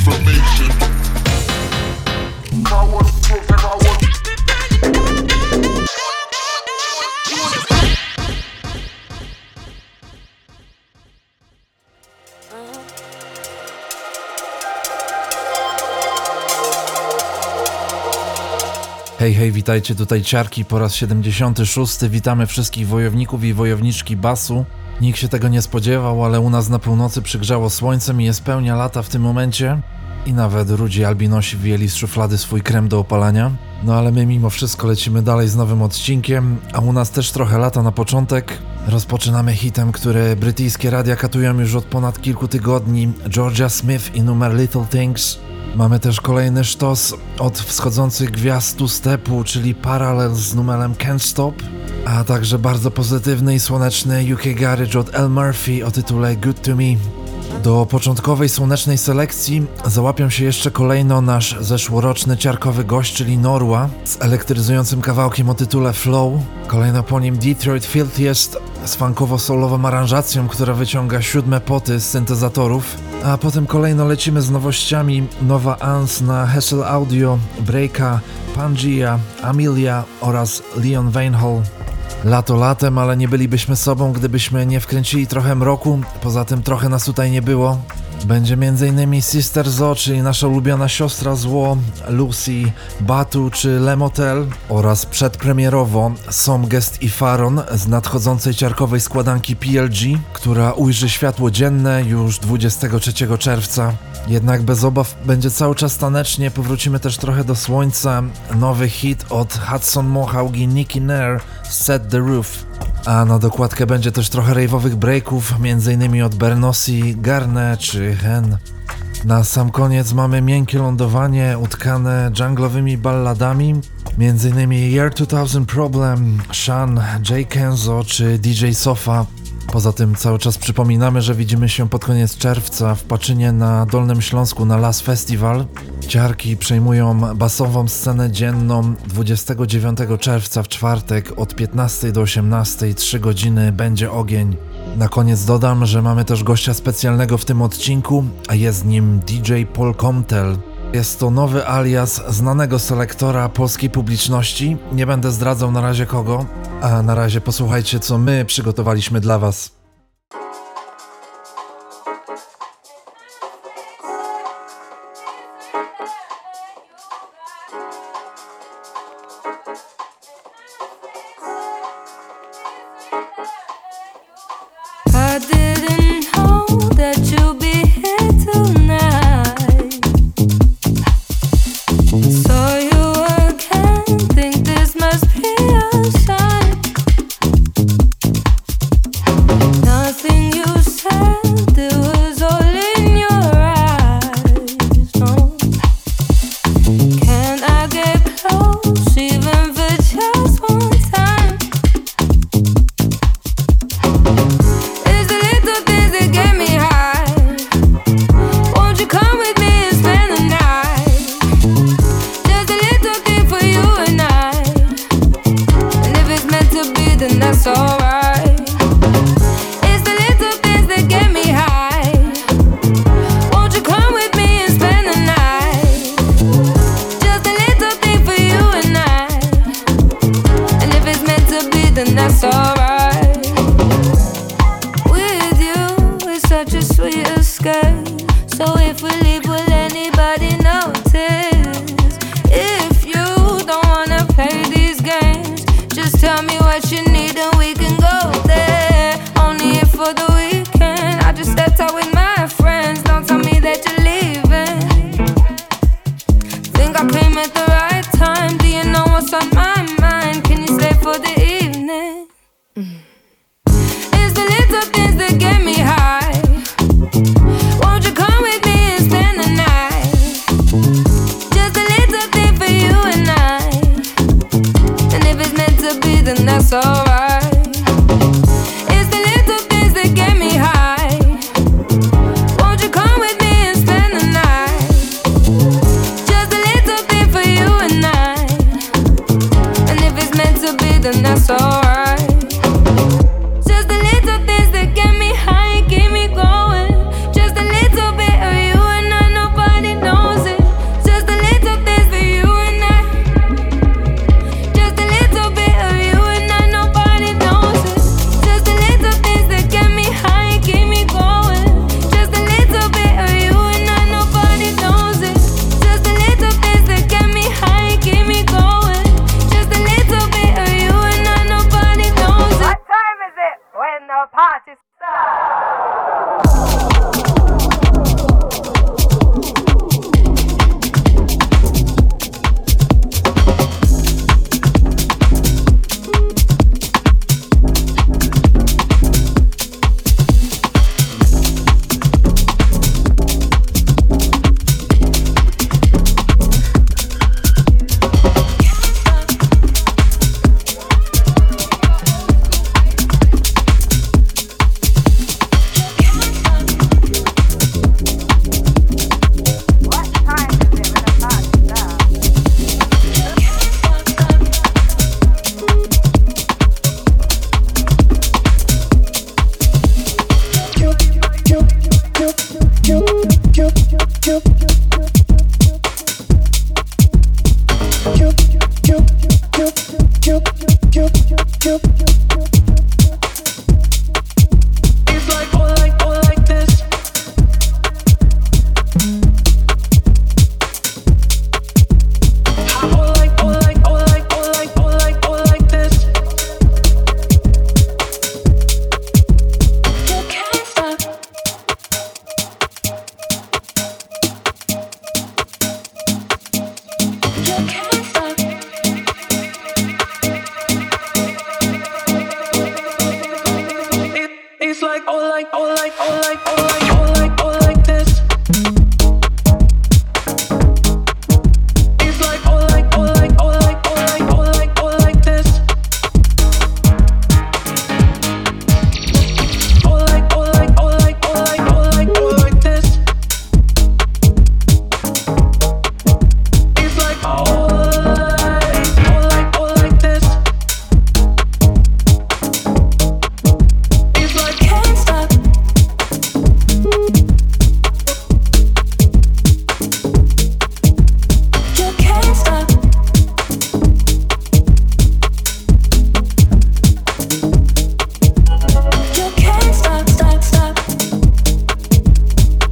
information. Hej, hej, witajcie, tutaj Ciarki po raz 76. Witamy wszystkich wojowników i wojowniczki basu. Nikt się tego nie spodziewał, ale u nas na północy przygrzało słońcem i jest pełnia lata w tym momencie. I nawet rudzi albinosi wyjęli z szuflady swój krem do opalania. No ale my mimo wszystko lecimy dalej z nowym odcinkiem, a u nas też trochę lata na początek. Rozpoczynamy hitem, który brytyjskie radia katują już od ponad kilku tygodni. Georgia Smith i numer Little Things. Mamy też kolejny sztos od wschodzących gwiazd two-stepu, czyli Parallels z numerem Can't Stop, a także bardzo pozytywny i słoneczny UK Garage od L. Murphy o tytule Good To Me. Do początkowej słonecznej selekcji załapią się jeszcze kolejno nasz zeszłoroczny ciarkowy gość, czyli Norwa, z elektryzującym kawałkiem o tytule Flow. Kolejno po nim Detroit Filthiest z funkowo-soulową aranżacją, która wyciąga 7 poty z syntezatorów. A potem kolejno lecimy z nowościami. Nowa Ans na Hessel Audio, Breaka, Pangea, Amelia oraz Leon Veinhall. Lato latem, ale nie bylibyśmy sobą, gdybyśmy nie wkręcili trochę mroku, poza tym trochę nas tutaj nie było. Będzie m.in. Sister Zo, czyli nasza ulubiona siostra zło, Lucy, Batu czy Le Motel oraz przedpremierowo Somgest i Faron z nadchodzącej ciarkowej składanki PLG, która ujrzy światło dzienne już 23 czerwca. Jednak bez obaw będzie cały czas tanecznie, powrócimy też trochę do słońca. Nowy hit od Hudson Mohawk i Nicky Nair, Set the Roof. A na dokładkę będzie też trochę rave'owych breaków, m.in. od Bernossi, Garne czy Hen. Na sam koniec mamy miękkie lądowanie utkane dżunglowymi balladami, m.in. Year 2000 Problem, Shan, Jay Kenzo czy DJ Sofa. Poza tym cały czas przypominamy, że widzimy się pod koniec czerwca w Paczynie na Dolnym Śląsku na Las Festival. Ciarki przejmują basową scenę dzienną 29 czerwca w czwartek od 15 do 18, 3 godziny będzie ogień. Na koniec dodam, że mamy też gościa specjalnego w tym odcinku, a jest nim DJ Paul Comtel. Jest to nowy alias znanego selektora polskiej publiczności, nie będę zdradzał na razie kogo, a na razie posłuchajcie, co my przygotowaliśmy dla was. I didn't know that you'd be here tonight. Saw you again, think this must be a sign. Nothing you said, it was all in your eyes. No, can I get close, even for just one time? It's the little things that get me high. Won't you come with me and spend the night? Just a little thing for you and I. And if it's meant to be, then that's alright. It's the little things that get me high. Won't you come with me and spend the night? Just a little thing for you and I. And if it's meant to be, then that's alright. With you, it's such a sweet escape. So if we leave, will anybody notice? If you don't wanna play these games, just tell me what you need and we can go there. Only here for the weekend. I just stepped out with my friends. Don't tell me that you're leaving. Think I came at the right time. Do you know what's on my mind? Can you stay for the evening? It's the little things that get me high. Won't you come with me and spend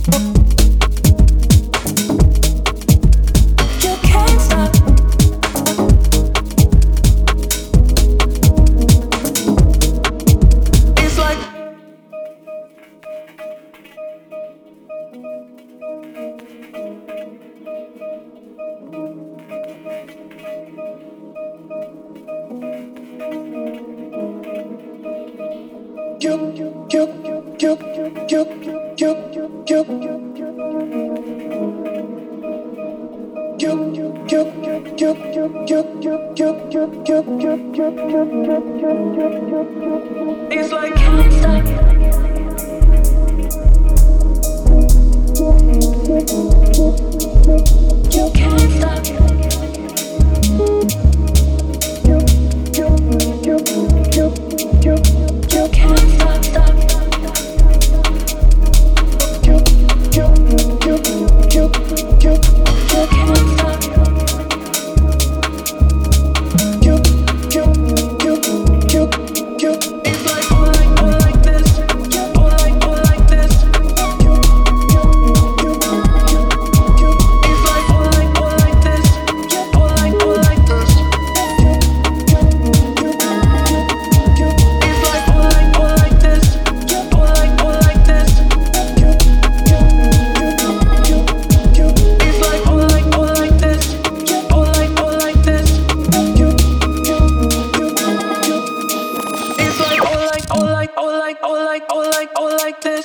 It's like can't stop. You can't stop. You can't stop, stop. You can't stop. It's like all like this, all like this. It's like all like this, all like this. It's like all like this, all like this. It's like all like this, all like this. It's like all like this.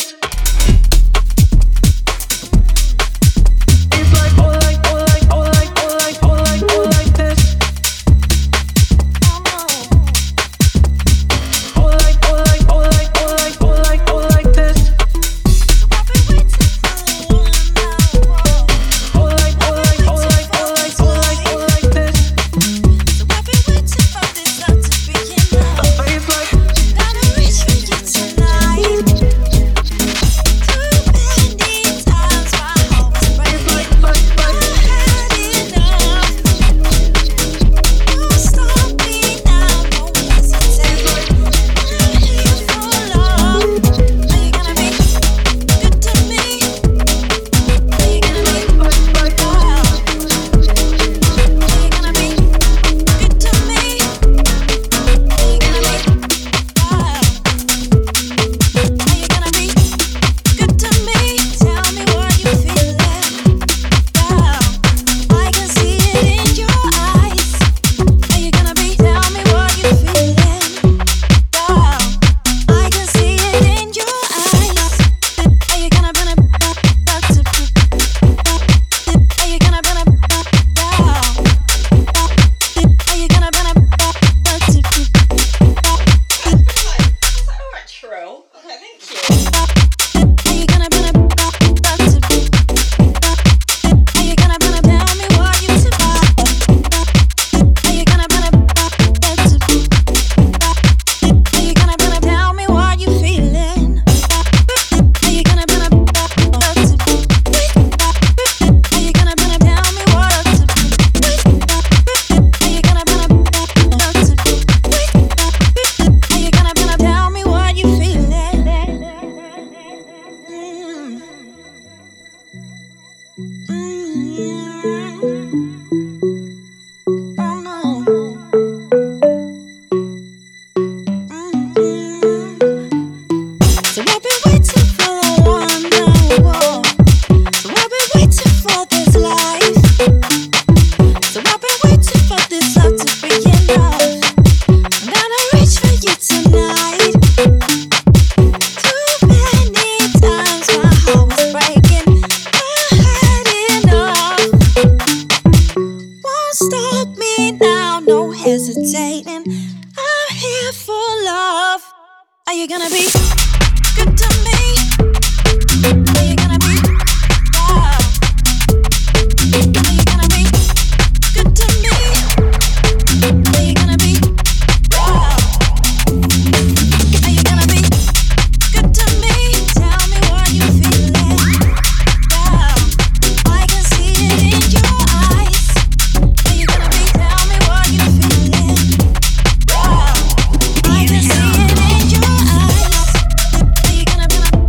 It's like all like this. All like this. All like this. It's like you gonna be good to me? Are you gonna be wow? Are you gonna be good to me? Are you gonna be wow? Are you gonna be good to me? Tell me what you feeling. Wow, I can see it in your eyes. Are you gonna be? Tell me what you feeling. Wow, I can see it in your eyes. Are you gonna be?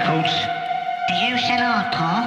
Coach, do you sell hardcore?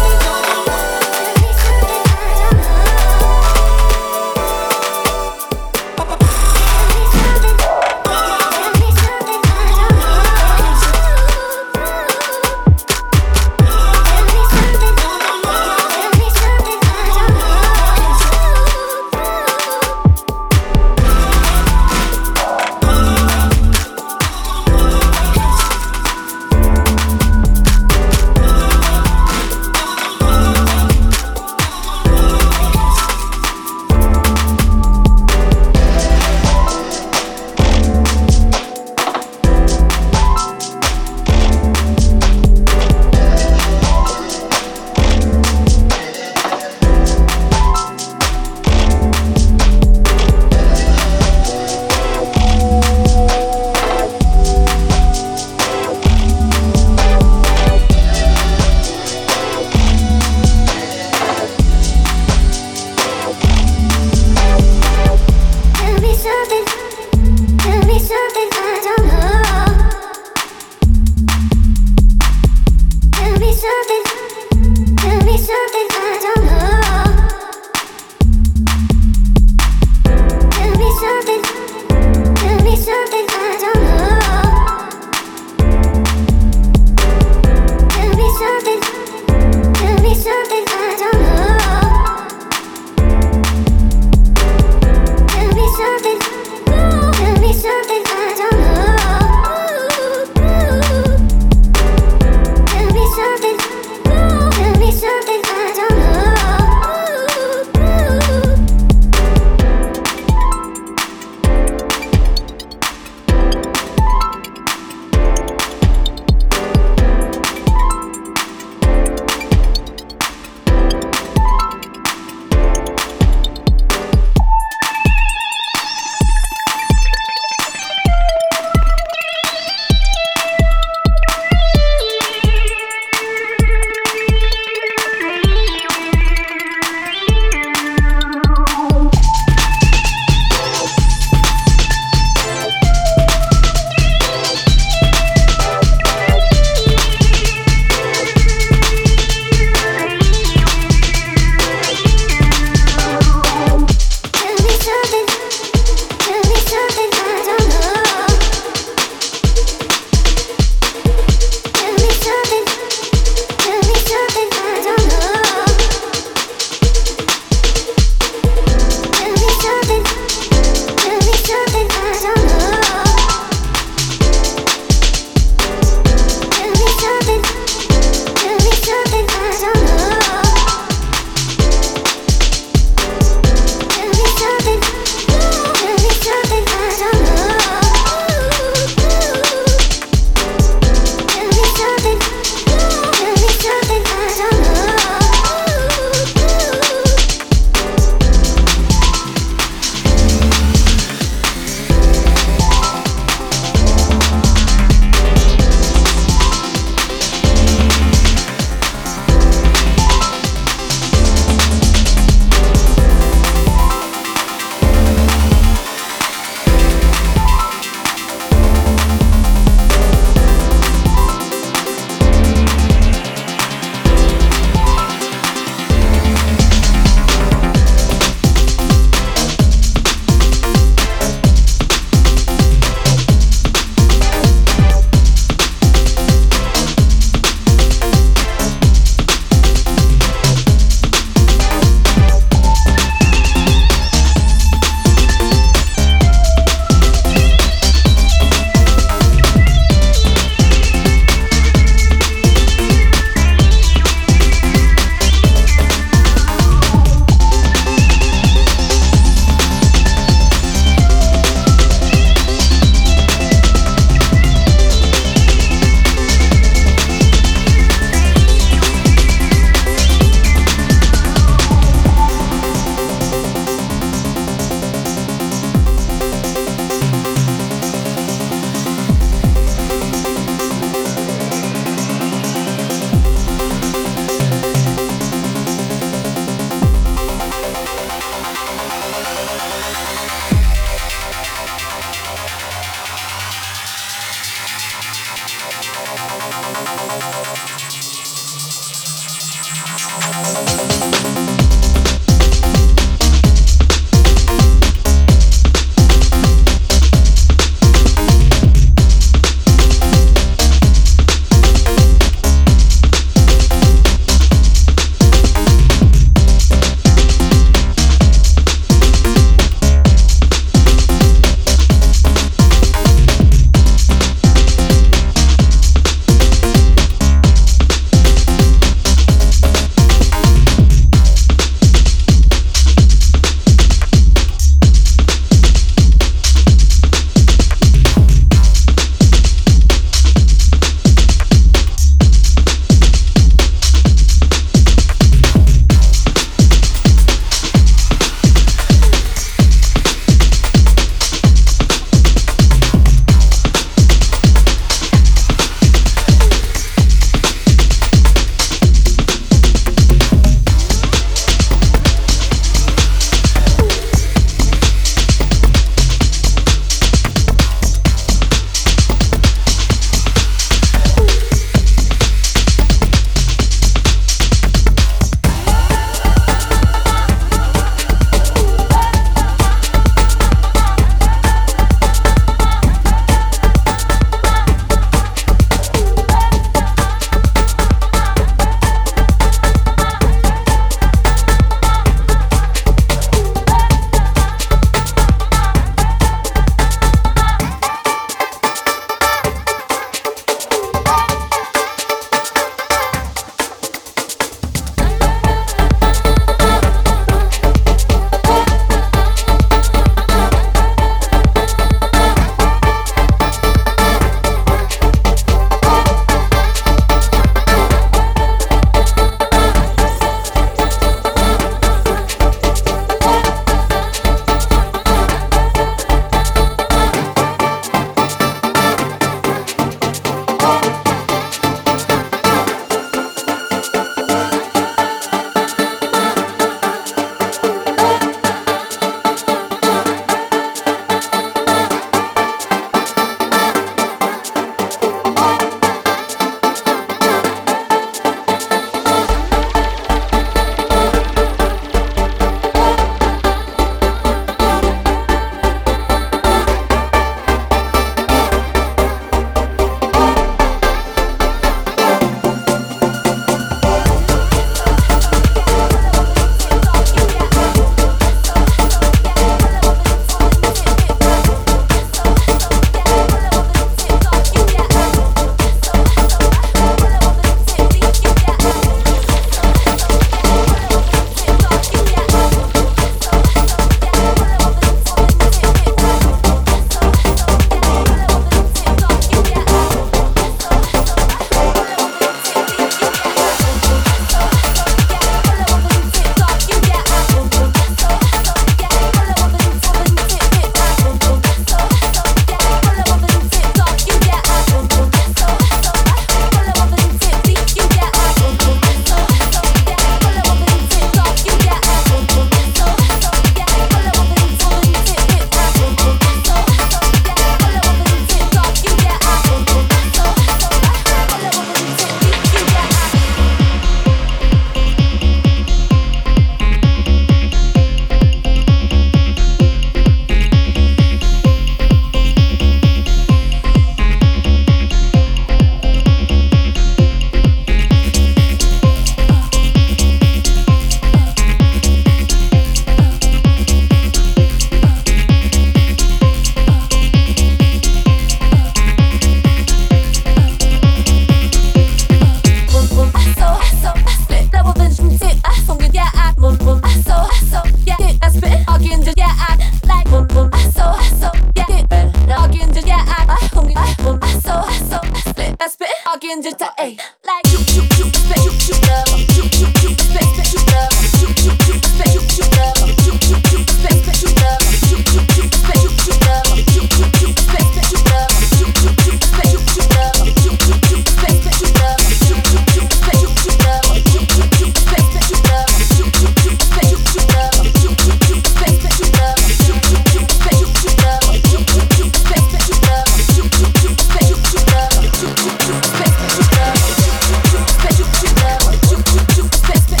Special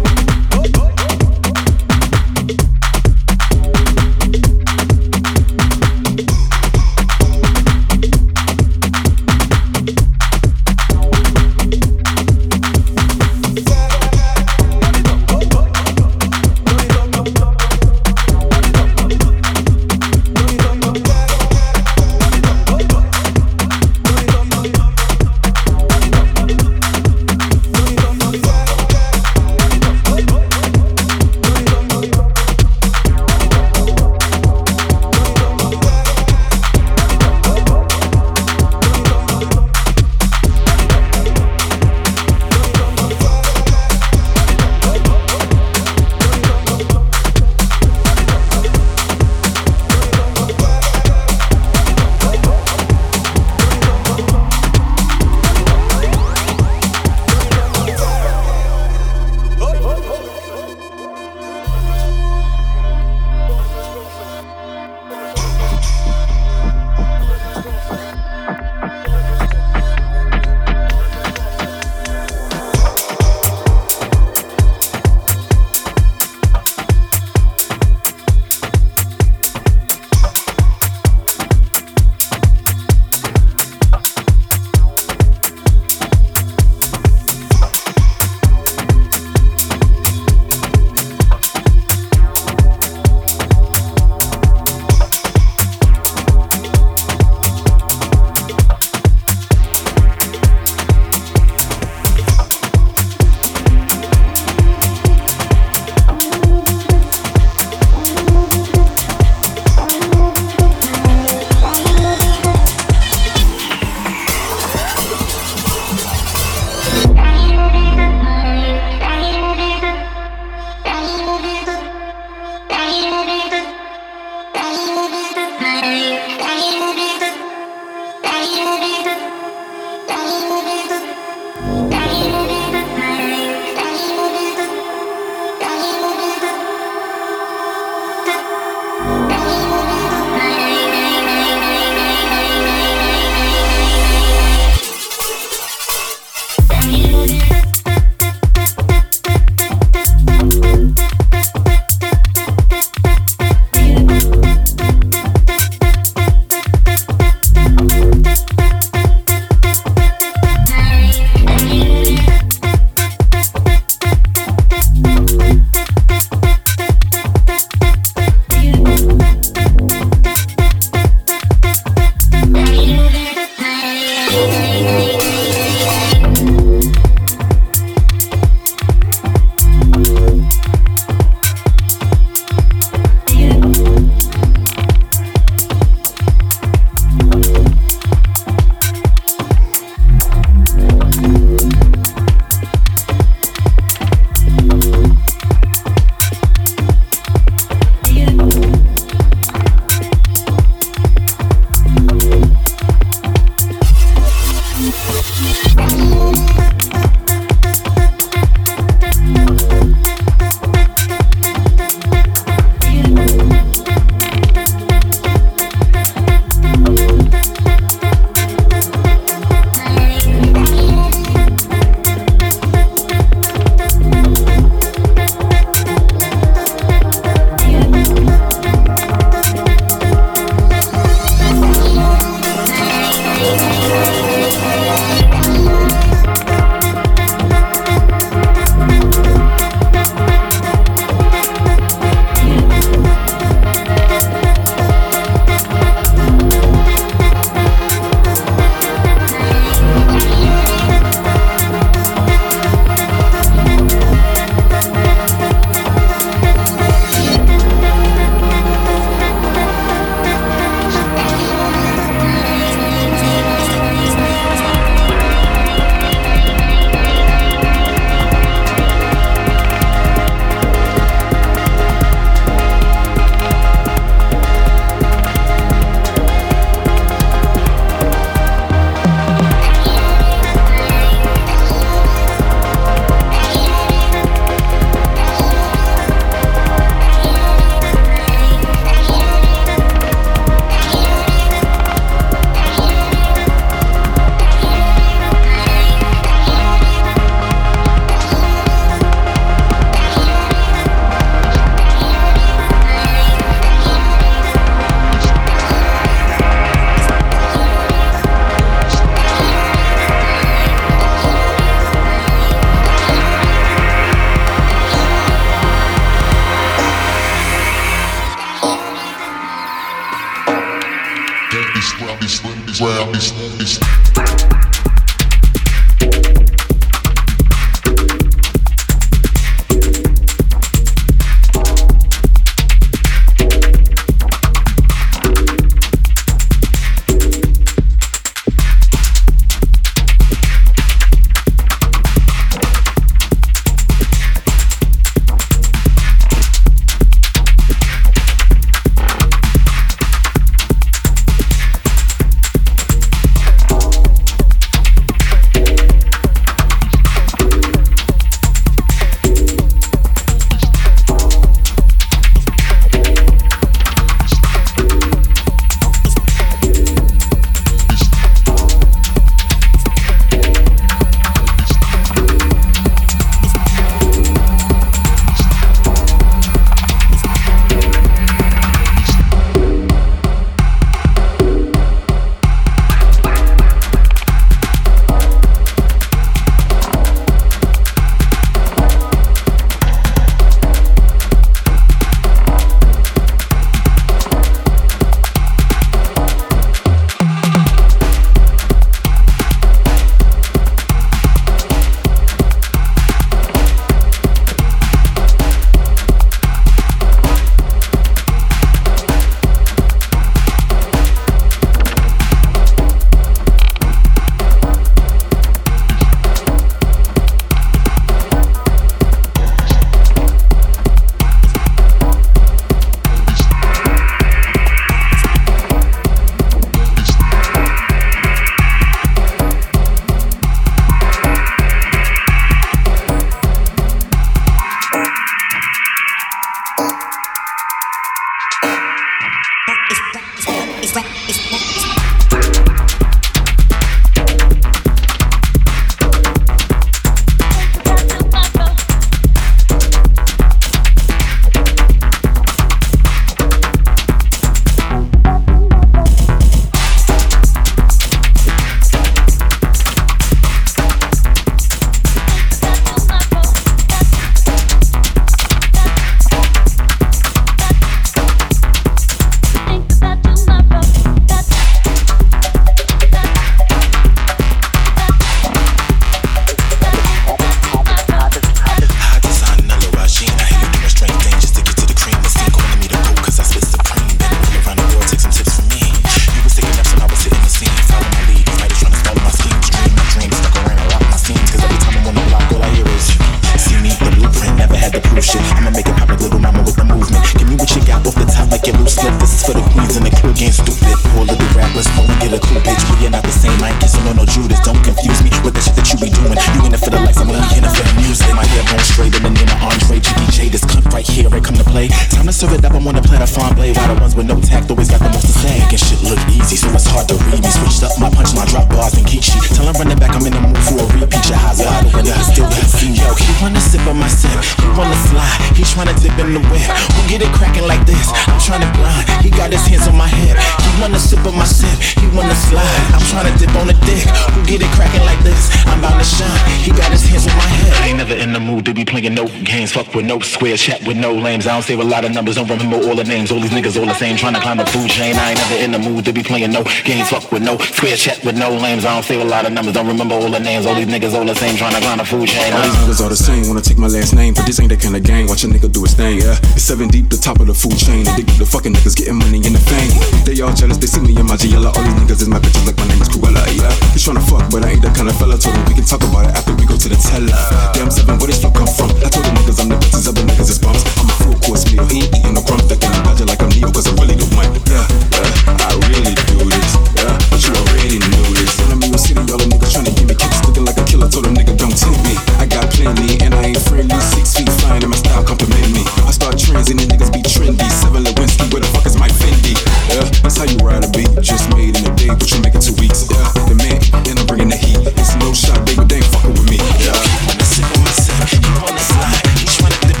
move shit. I'ma make it pop like little mama with the movement. Give me what you got off the top like your loose slip. This is for the queens and the crew getting stupid. Poor little rappers, phone and get a cool bitch. We are not the same, I ain't kissing on no Judas. Don't confuse me with the shit that you be doing. You in it for the likes, I'm only in it for the music. My hair bone straight in the name of Andre GBJ. This cunt right here, I come to play. Time to serve it up, I'm on the platter farm blade. Why the ones with no tact always got the most to say. Making shit look easy, so it's hard to read me. Switched up my punchline, drop bars and geek shit. Tell him running back, I'm in the mood for a repeat. Your highs wide open, I still got seen. Yo, he wanna sip on my sip, he wanna slide, he tryna dip in the whip. Who get it cracking like this? I'm tryna grind, he got his hands on my hip. He wanna sip on my sip, he wanna slide, I'm tryna dip on the dick. Who get it cracking like this? I'm bound to shine, he got his hands on my hip. I ain't never in the mood to be playing no games. Fuck with no square, chat with no lames. I don't save a lot of numbers, don't remember all the names. All these niggas all the same, tryna climb the food chain. I ain't never in the mood to be playing no games. Fuck with no square, chat with no lames. I don't save a lot of numbers, don't remember all the names. All these niggas all the same, tryna climb the food chain. All these niggas all the same, wanna take my last name, but this ain't that kind of gang. Watch a nigga do his thing, yeah. It's 7 deep, the top of the food chain. And they keep the fucking niggas getting money in the fame. They all jealous, they see me in my GL. All these niggas is my bitches like my name is Cruella, yeah. He's tryna fuck, but I ain't that kind of fella. Told him we can talk about it after we go to the teller. Damn 7, where this fuck come from? I told the niggas I'm the bitches, other niggas is bums. I'm a full course meal, he ain't eating no crumbs. They can imagine like I'm Neo, cause I really don't mind. Yeah, I really do this, yeah. But you already knew this. When I'm in your city, all the niggas tryna give me kicks. Looking like a killer, told a nigga don't tempt me. I got plenty, and I ain't friendly. 6 feet flying, and my style compliment me. I start trends, and the niggas be trendy. 7 Lewinsky, where the fuck is my Fendi? Yeah, that's how you ride a beat. Just made in a day, but you make it 2 weeks. Yeah, the man, and I'm bringing the heat. It's no shot, baby, they ain't fucking with me. Yeah, He wanna sip on my sip, he wanna slide, he tryna dip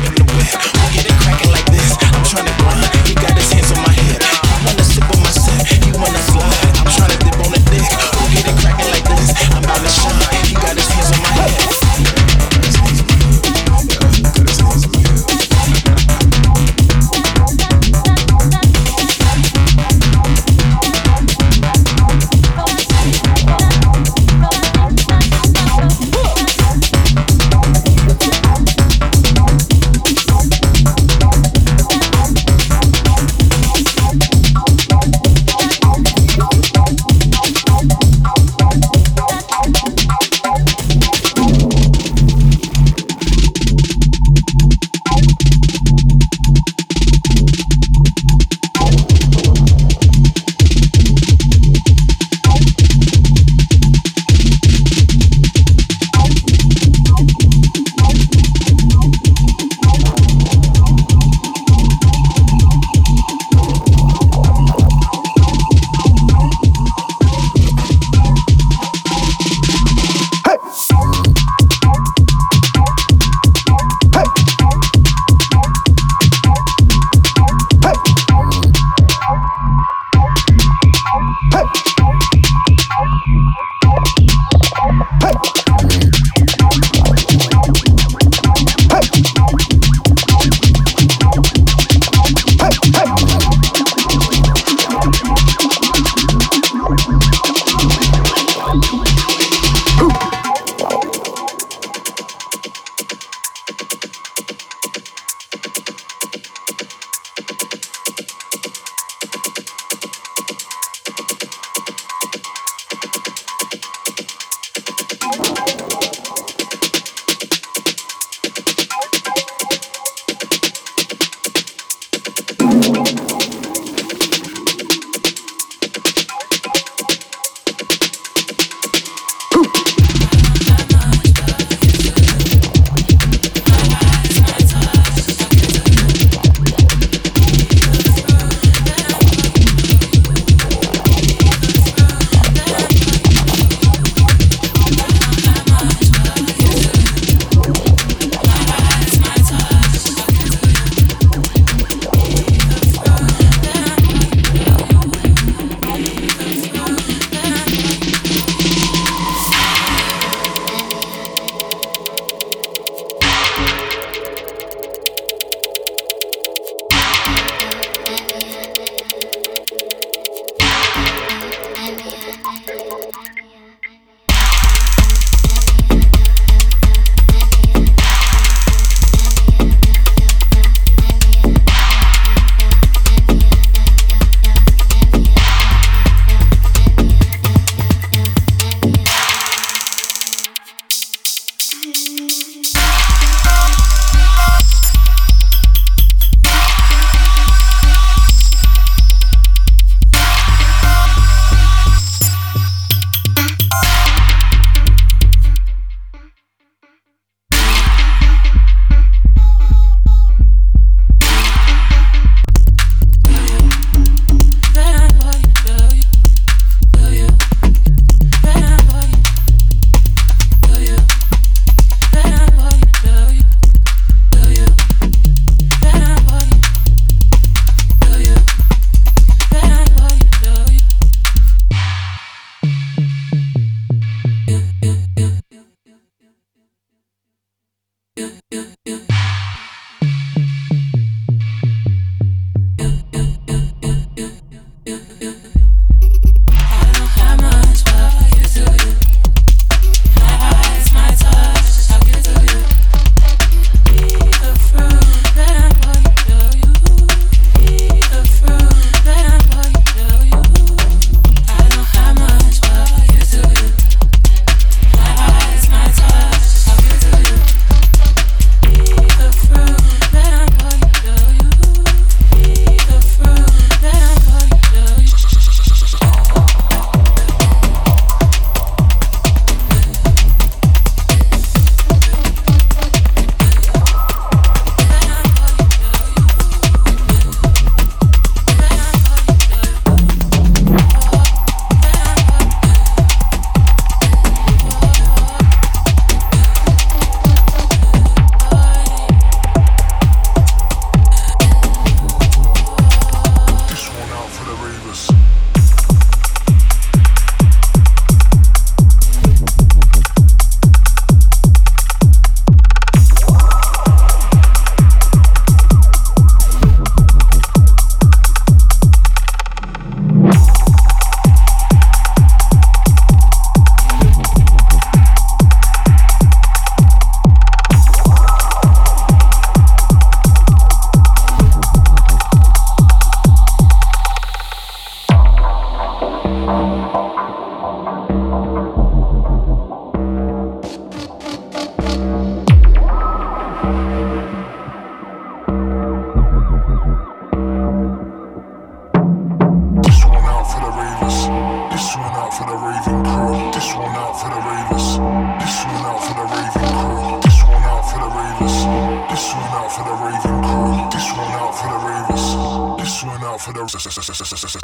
This one out for the ravers. This one out for the raving crew. This one out for the ravers. This one out for the raving crew. This one out for the ravers. This one out for the raving crew. This one out for the ravers. This one out for the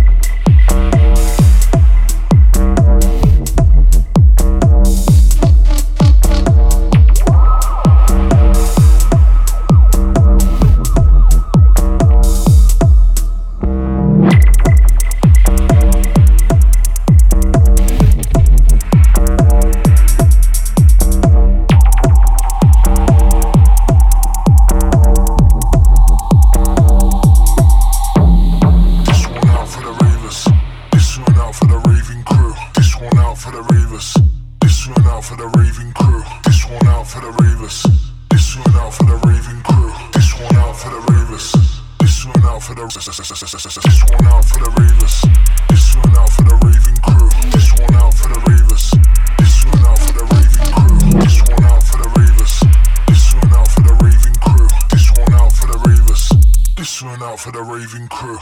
raving crew.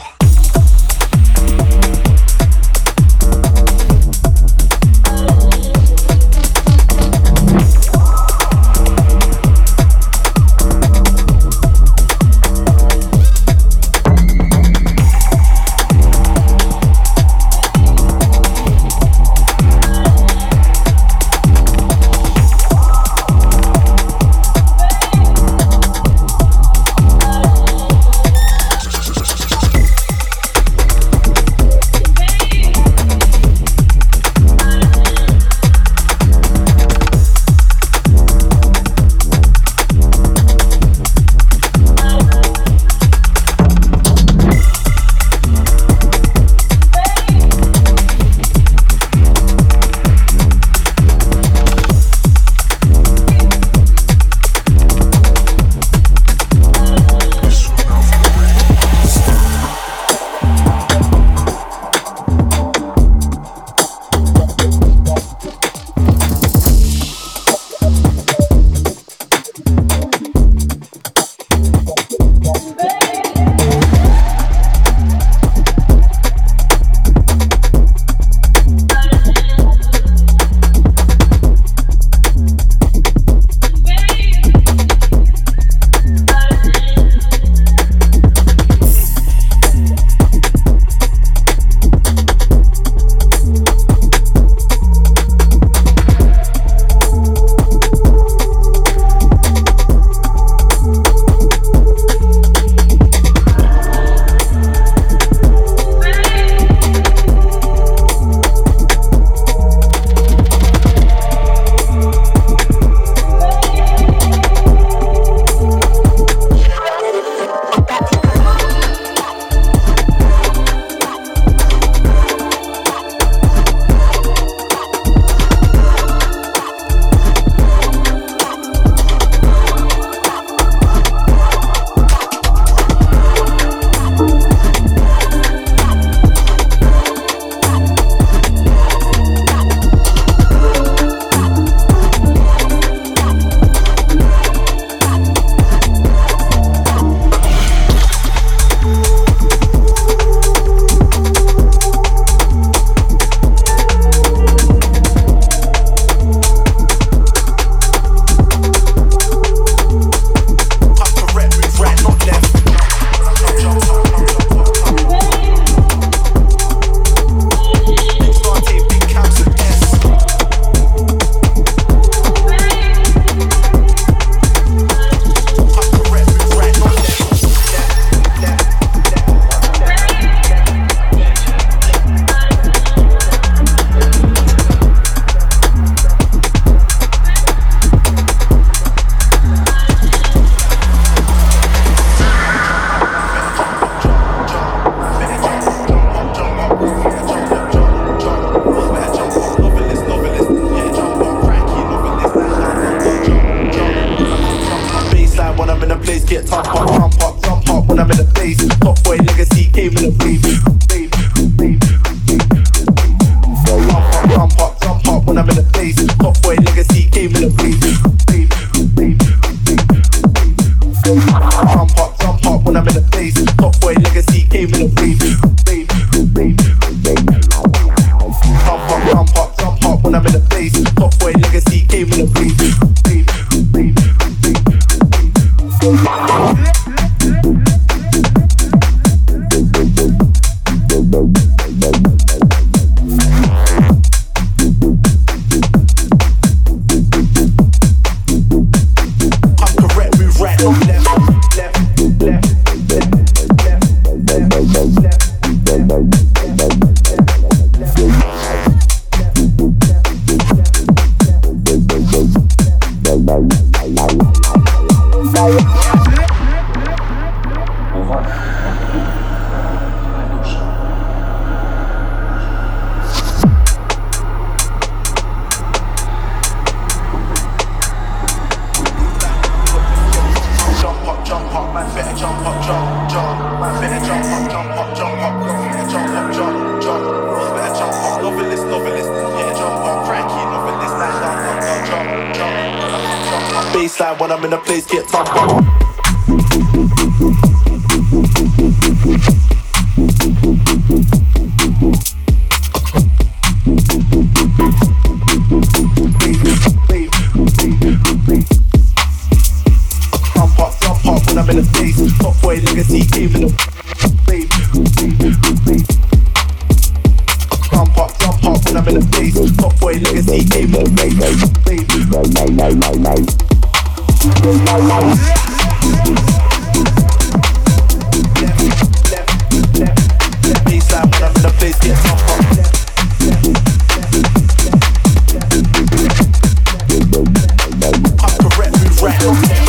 Jump up when I'm in the baseline when I'm in the place get tougher. Jump up when I'm in the face. Top boy legacy came in the wave. Jump up when I'm in the face. Top boy legacy came in the wave. Left baseline when I'm in the place get tougher. I'm correct, move right.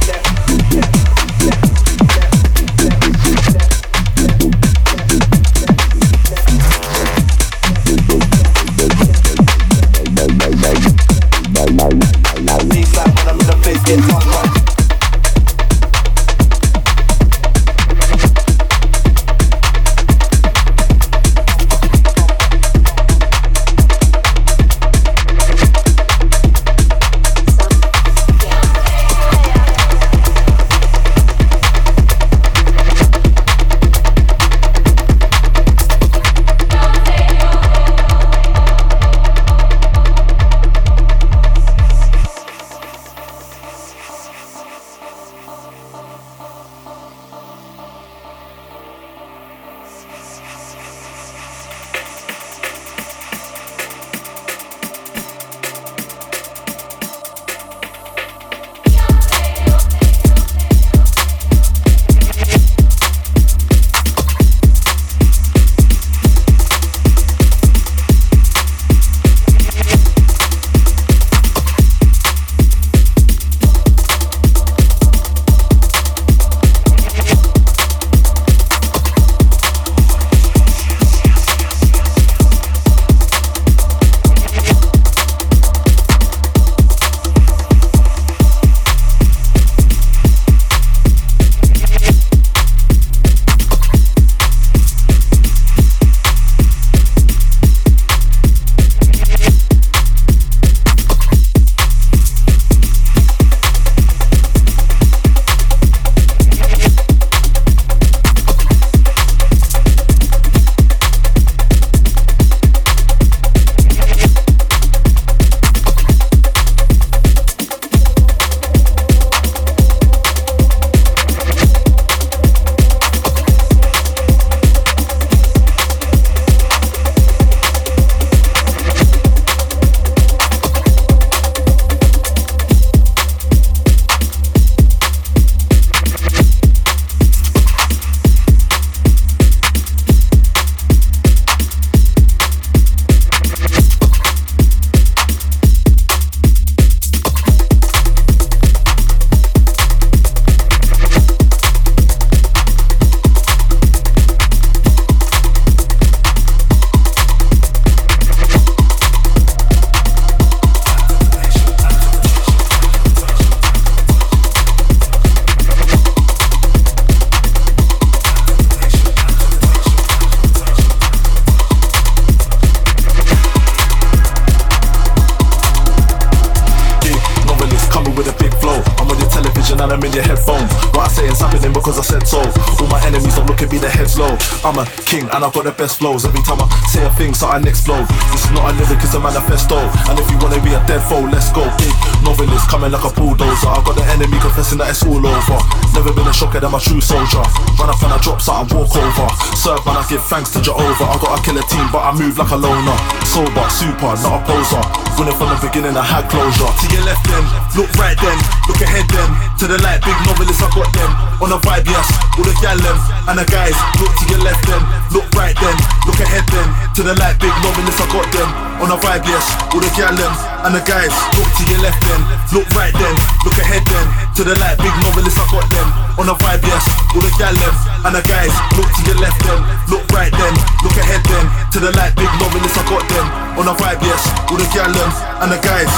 and I'm in your headphones. What I say is happening because I said so. All my enemies don't look at me, their heads low. I'm a king and I've got the best flows. Every time I say a thing, so I explode. This is not a lyric, it's a manifesto. And if you wanna be a dead foe, let's go. Big novelist coming like a bulldozer. I've got the enemy confessing that it's all over. Never been a shocker than my true soldier. Run up and I drop something, walk over. Serve man, I give thanks to Jehovah. I got a killer team, but I move like a loner. Sober, super, not a poser. Winning from the beginning, I had closure. To your left then, look right then, look ahead then. To the light, big novelists, I got them. On a vibe, yes, all the gal them. And the guys, look to your left then, look right then, look ahead then. To the light, big novelists, I got them. On a vibe, yes, all the gal them. And the guys, look to your left then, look right then, look ahead then. To the light, big novelists, I got them. On a vibe, yes, all the gal them. And the guys, look to your left then, look right then, look ahead then. To the light, big novelists, I got them. On a vibe, yes, all the gal them. And the guys.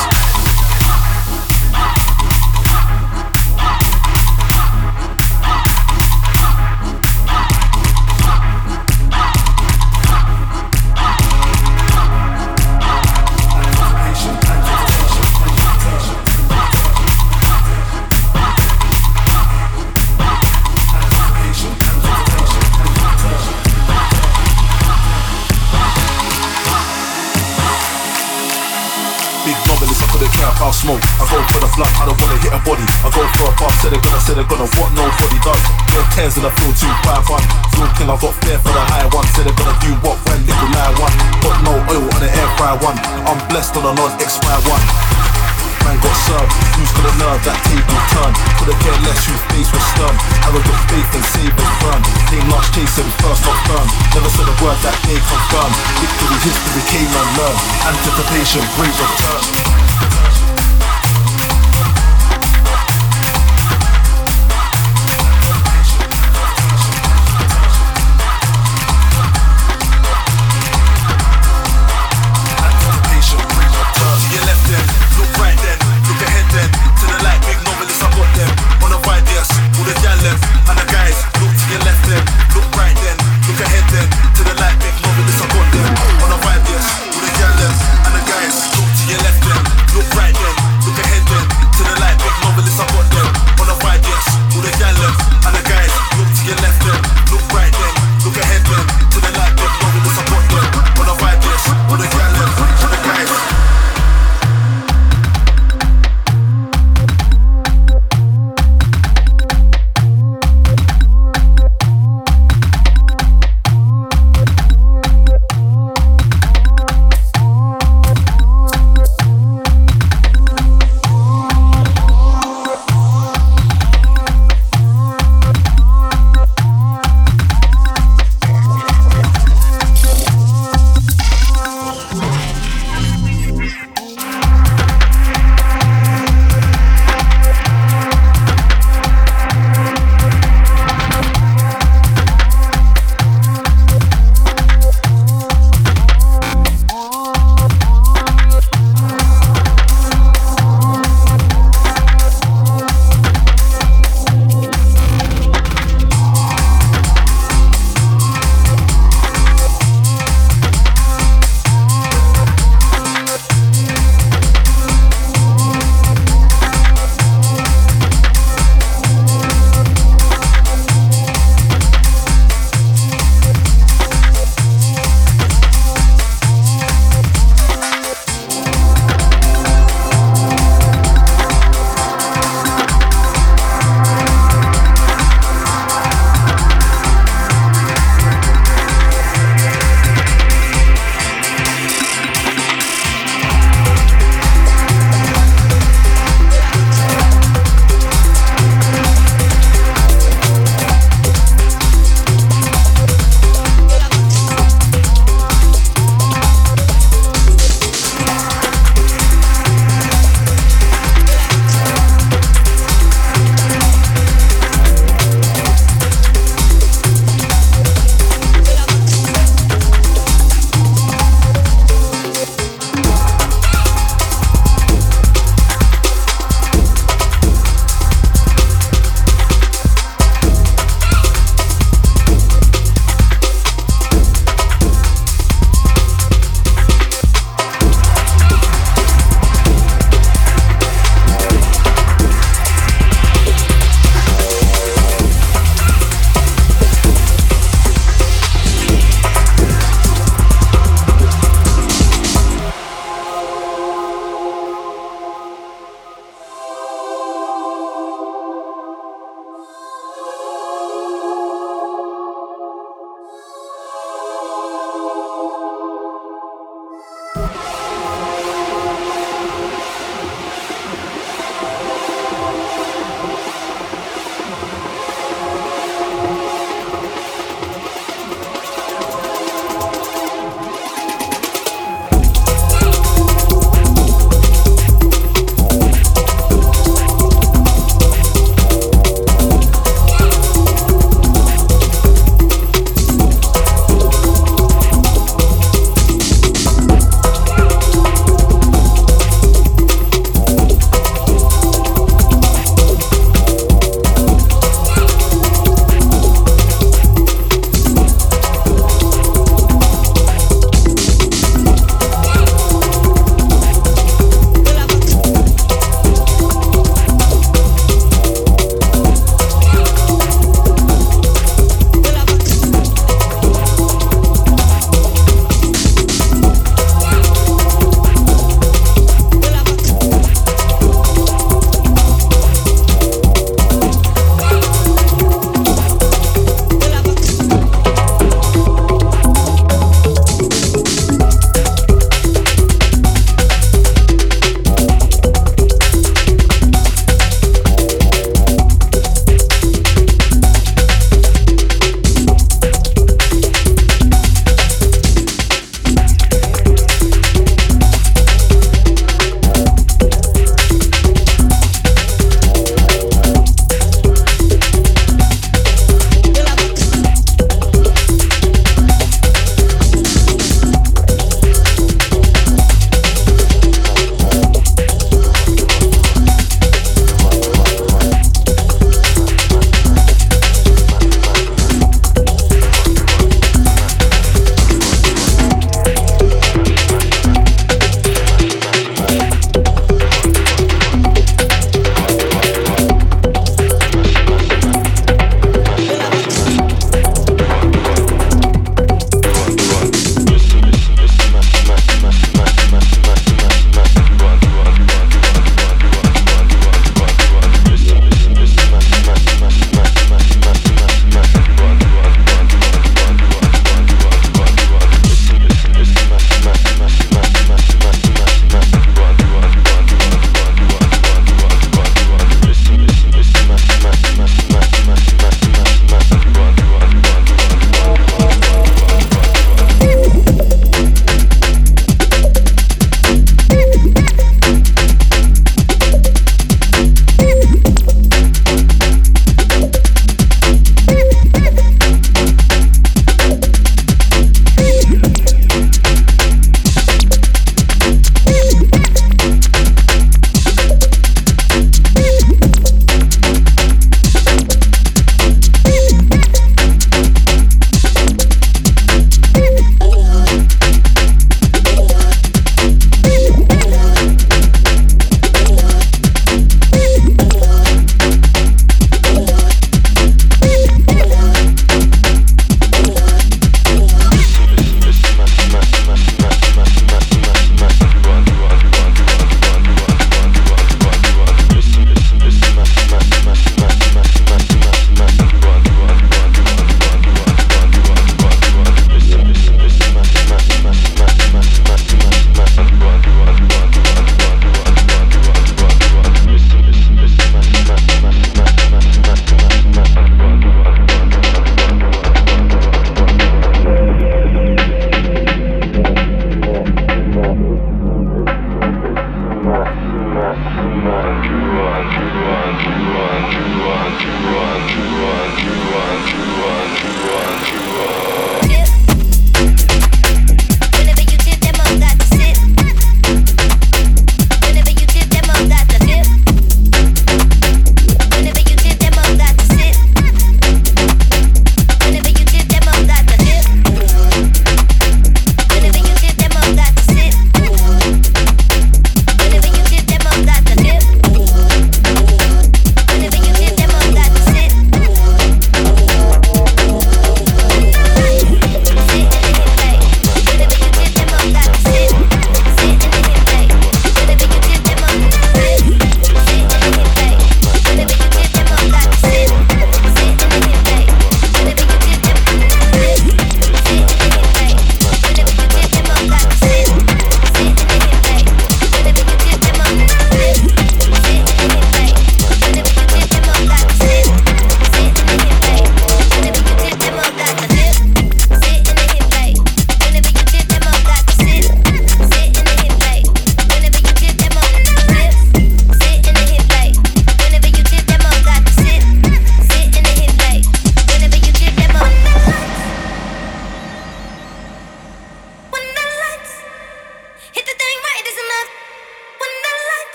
I'll smoke. I go for the blunt, I don't wanna hit a body. I go for a puff, say they're gonna, what nobody does. Get tears and I feel 251. Feel king, I got fair for the high one. Say they're gonna do what when they could lie one. Got no oil on the air fry one. I'm blessed on a non-expire one. Man got served, who's got a nerve, that table turned. Could've cared less whose face was stern. Arrogant faith and savers burn. Came last chasing, first not firm. Never said a word that they confirmed. Victory, history came and learned. Anticipation, great return. And the guys, look to your left then.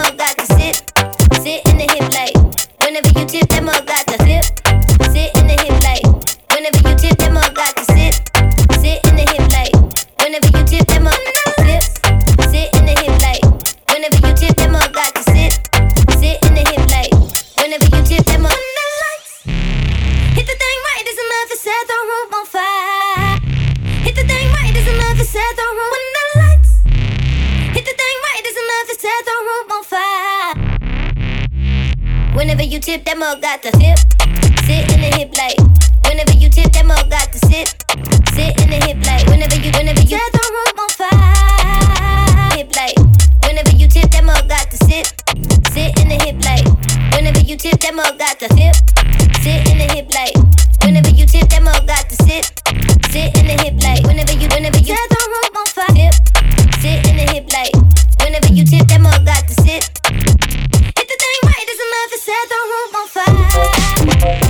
all got to sit in the hip like. Whenever you tip, them all got to flip, sit in the hip like. Whenever you tip, them all got to sit in the hip like. Whenever you tip, them all flip, sit in the hip like. Whenever you tip, them all got to sit in the hip like. Whenever you tip, them all hit the thing right as enough to set the room on fire. Hit the thing right as enough to set the room when the lights. Hit the thing right as enough to set the room on fire. Whenever you tip, them all got to flip, sit in the hip like. Whenever you tip, them all got to sit in the hip like. Whenever you set the room on fire. Hip like. Whenever you tip, them all got to sit in the hip like. Whenever you tip, them all got to flip, sit in the hip like. Whenever you tip, them all got to sit in the hip like. Whenever you set the room on fire. Sit in the hip like. Whenever you tip, them all got to sit. Hit the thing right as enough to set the room on fire.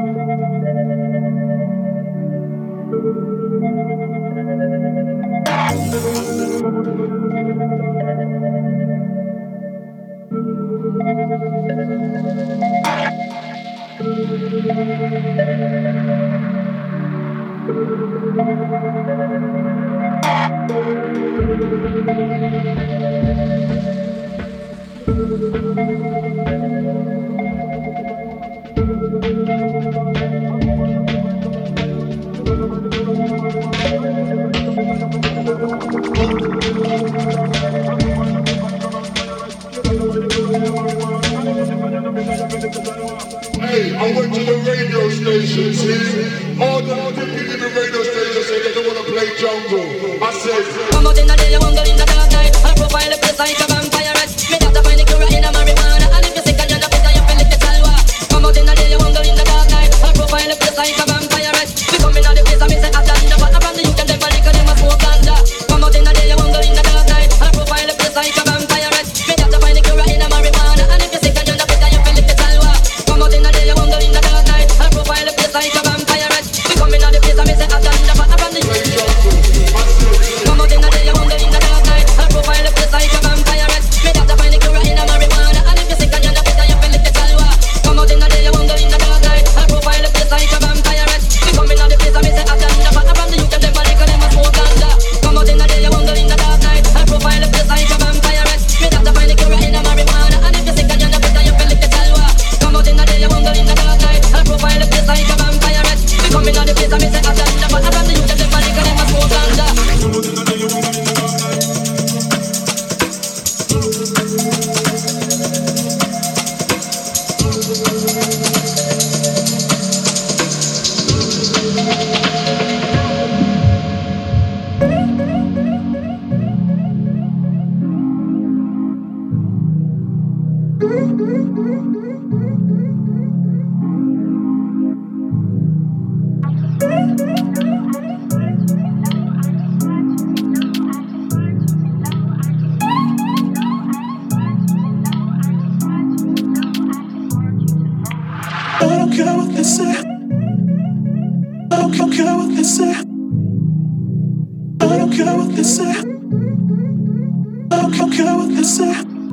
Hey, I went to the radio station, see? All the people in the radio station said they don't want to play jungle. I said, come out in the day, you won't go in the dark night. I profile the place like a vampire. Me have to find the cure in a marijuana. And if you sick and you're not better, you feel it, the salwa. Come out in the day, you won't go in the dark night. I profile the place like a vampire. We come in the place and me say a ganja. But I from the youth and them liquor, them a smoke ganja. Come out in the day, you won't go in the dark night. I profile the place like a vampire. Me have to find the cure in a marijuana. And if you sick and you're not better, you feel it, the salwa. Come out in the day, you won't go in the dark night. I profile the place like a vampire. We come in the place and me say a ganja. But I from the youth. Come out in the day, you won't go in the dark night. I profile the place like a vampire. Me have to find the cure in a marijuana. And if you sick and you're not better, you feel it, the salwa. Come out in the day, you won't go in the dark night. I profile the place like a vampire. We come in the place and me say a ganja. But I from the youth and them liquor, them a smoke ganja. Come out in the day, you won't go in the dark night. I profile the place like a vampire. Me have to find the cure in a marijuana. And if you sick and you're not better, you feel it, the salwa. Come out in the day, you won't go in the dark night. I profile the place like a vampire. We come in the place and me say a ganja. But I from the youth and them liquor, them a smoke ganja. I don't care what they say. I don't care what they say. I don't care what they say. I don't care what they say.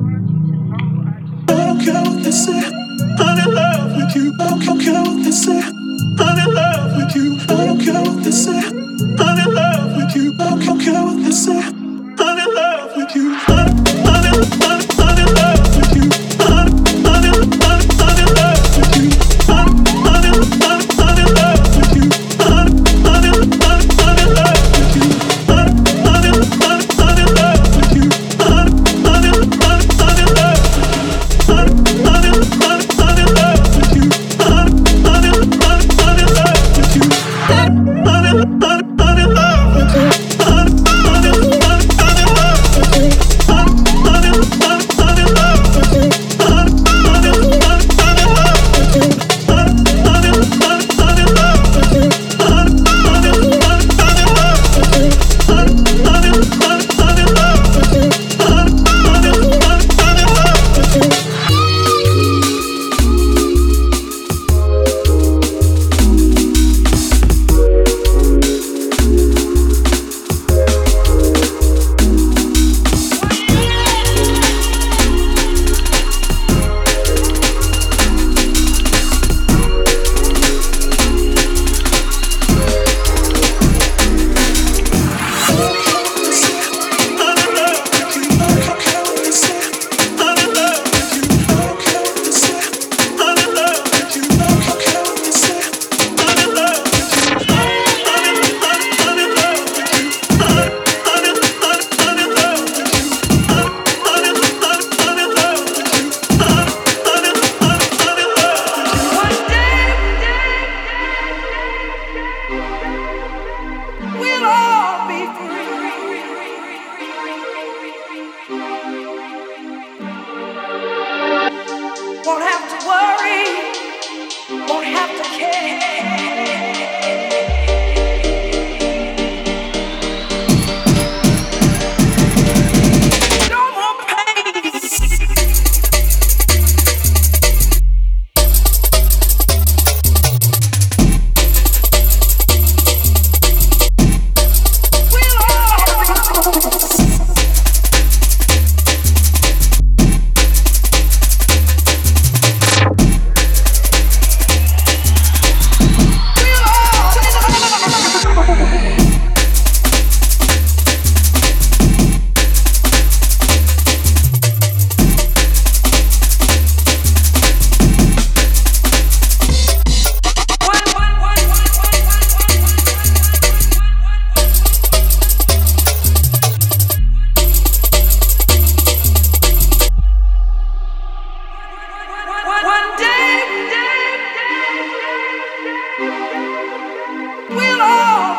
I don't care what they say. I'm in love with you. I don't care what they say. I'm in love with you. I don't care what they say. I'm in love with you. I don't care what they say. I'm in love with you. I'm in love with you. I'm in love with you. I'm in love with you. I'm in love with you. I'm in love with you. I'm in love with you.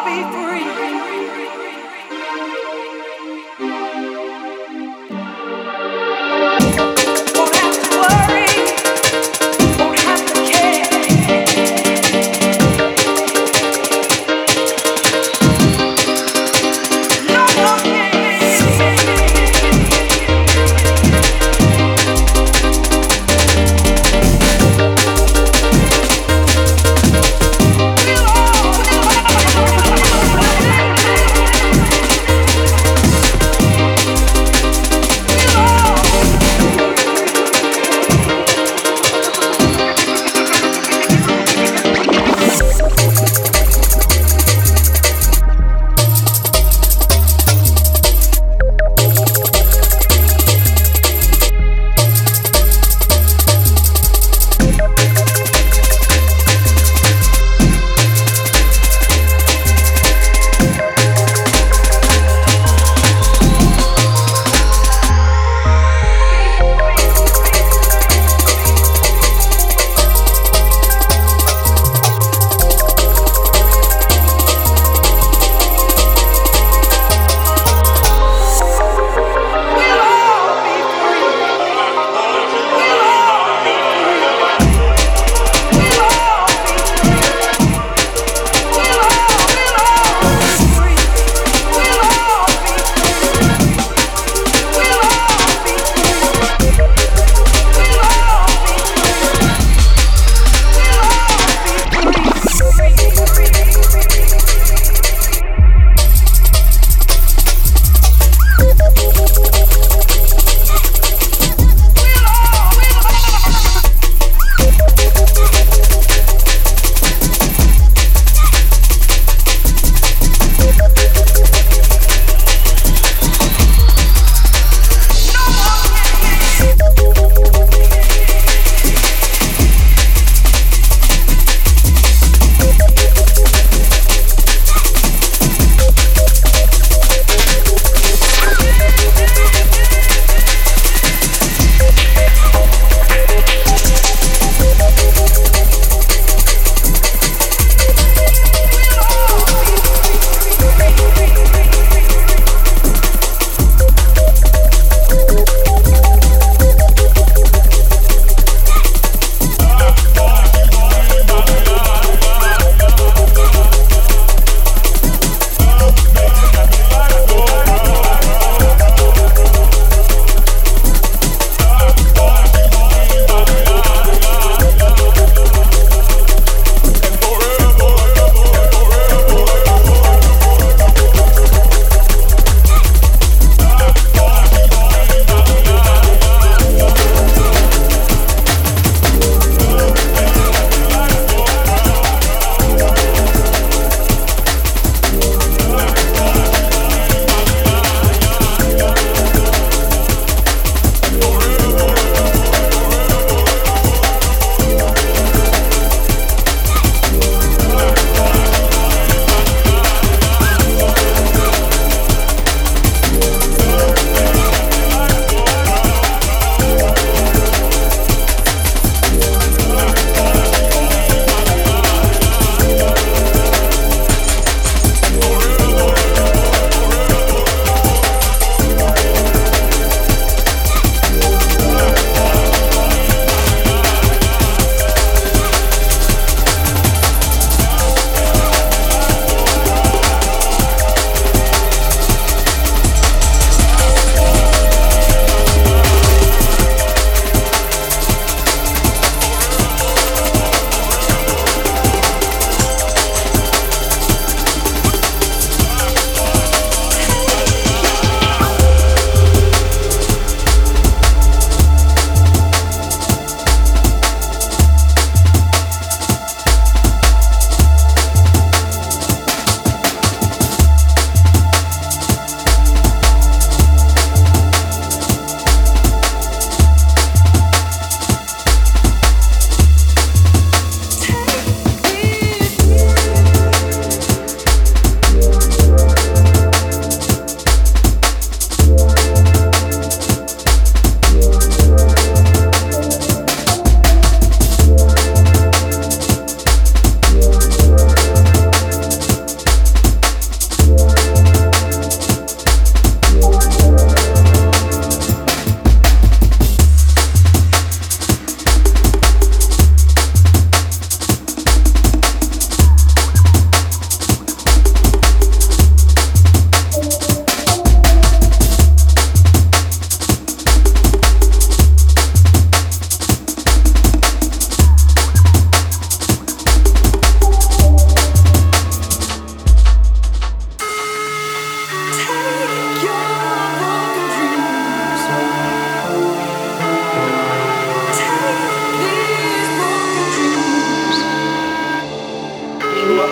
be free. Won't have to worry, won't have to care. No more pain.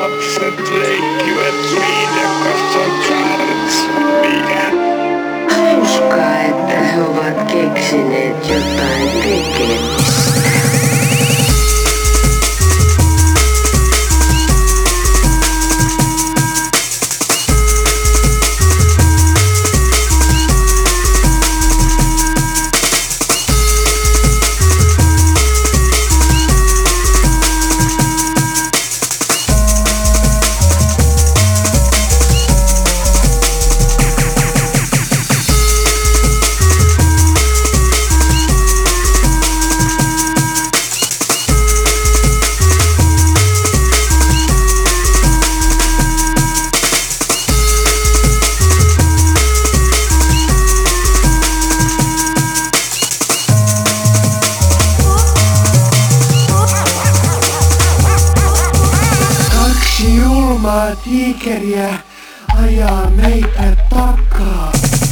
Hauskaa, että he ovat keksineet jotain tekemistä. Julmaa tiikeriä ajaa meitä takaa.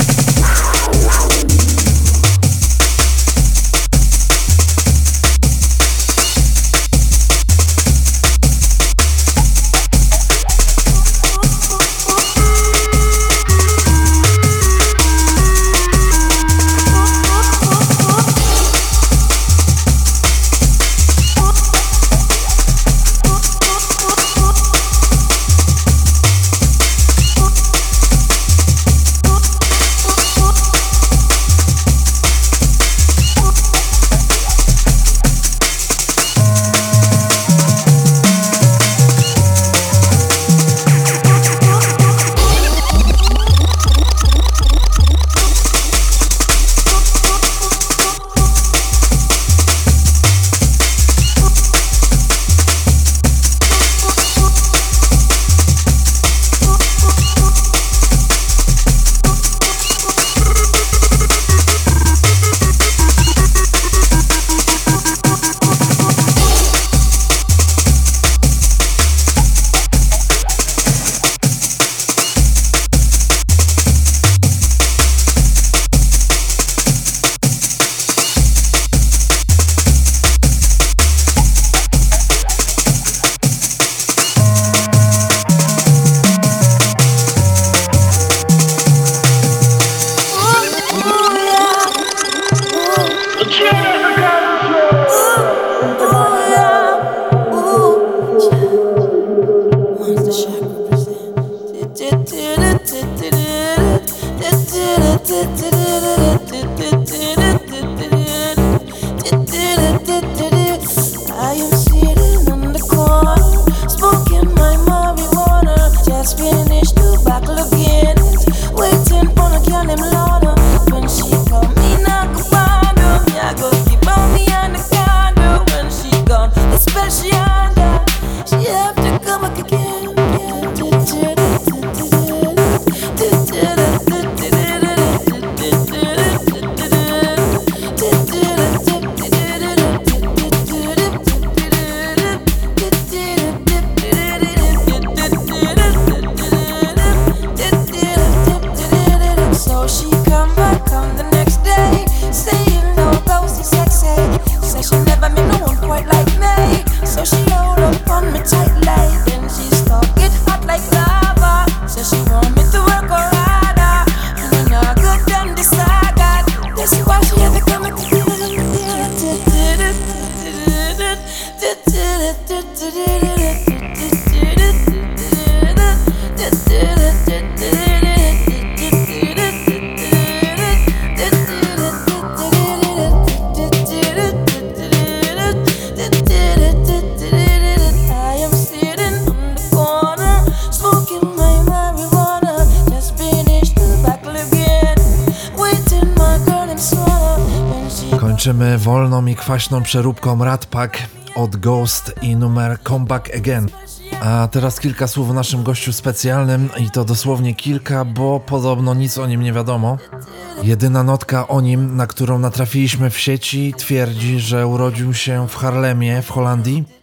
Kończymy wolną i kwaśną przeróbką Rat Pack od Ghost i numer Come Back Again. A teraz kilka słów o naszym gościu specjalnym i to dosłownie kilka, bo podobno nic o nim nie wiadomo. Jedyna notka o nim, na którą natrafiliśmy w sieci, twierdzi, że urodził się w Haarlemie w Holandii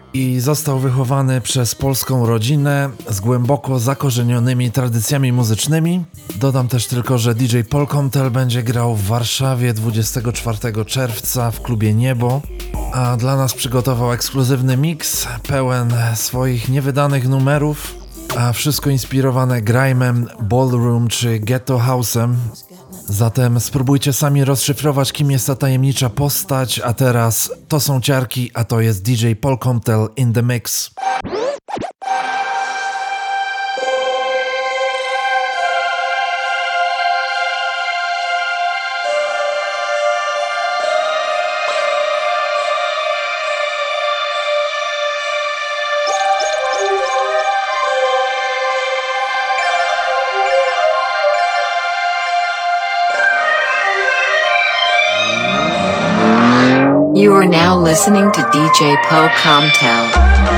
i został wychowany przez polską rodzinę z głęboko zakorzenionymi tradycjami muzycznymi. Dodam też tylko, że DJ Paul Comtel będzie grał w Warszawie 24 czerwca w klubie Niebo, a dla nas przygotował ekskluzywny mix pełen swoich niewydanych numerów, a wszystko inspirowane grime'em, ballroom czy ghetto house'em. Zatem spróbujcie sami rozszyfrować, kim jest ta tajemnicza postać, a teraz to są ciarki, a to jest DJ Paul Comtel in the mix. You are now listening to DJ Paul Comtel.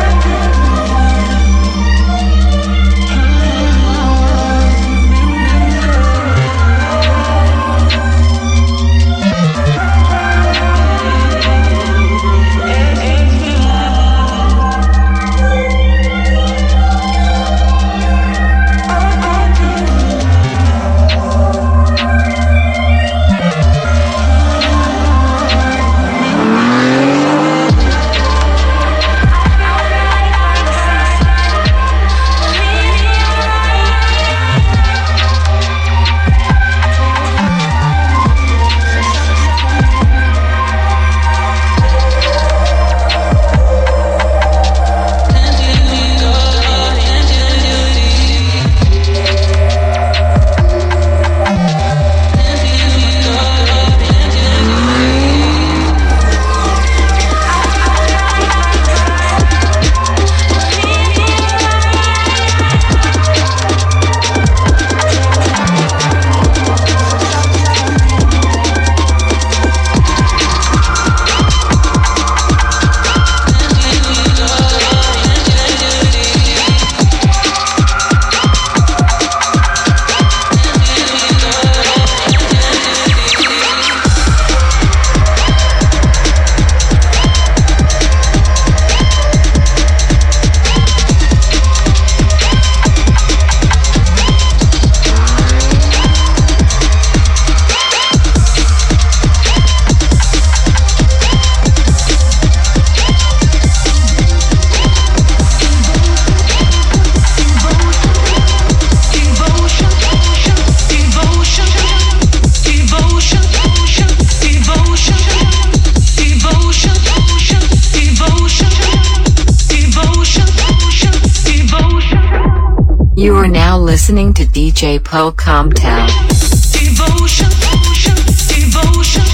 You are now listening to DJ Paul Comtel. Devotion, devotion, devotion,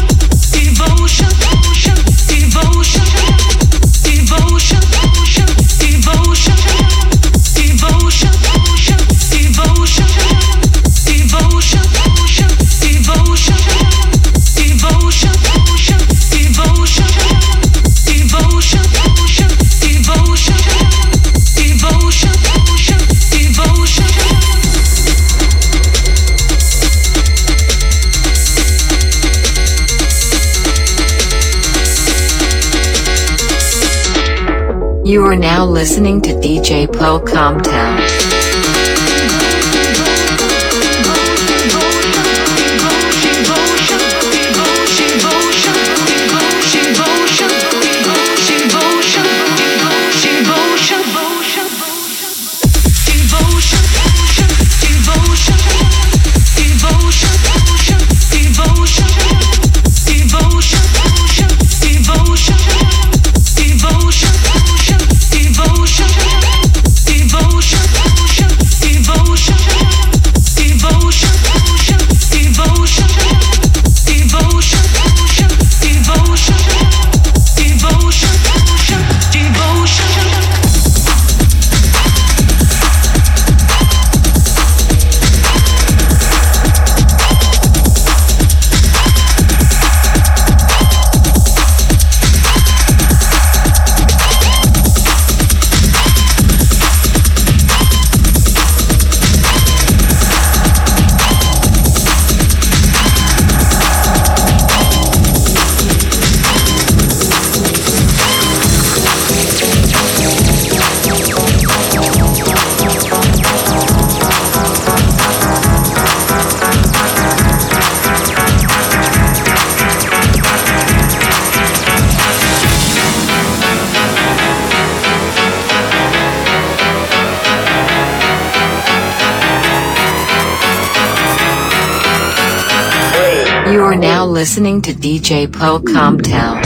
devotion, devotion, devotion, devotion, devotion, devotion, devotion, devotion, devotion, devotion, devotion, devotion, devotion. You are now listening to DJ Paul Comtel. Devotion. You are now listening to DJ Paul Comptel.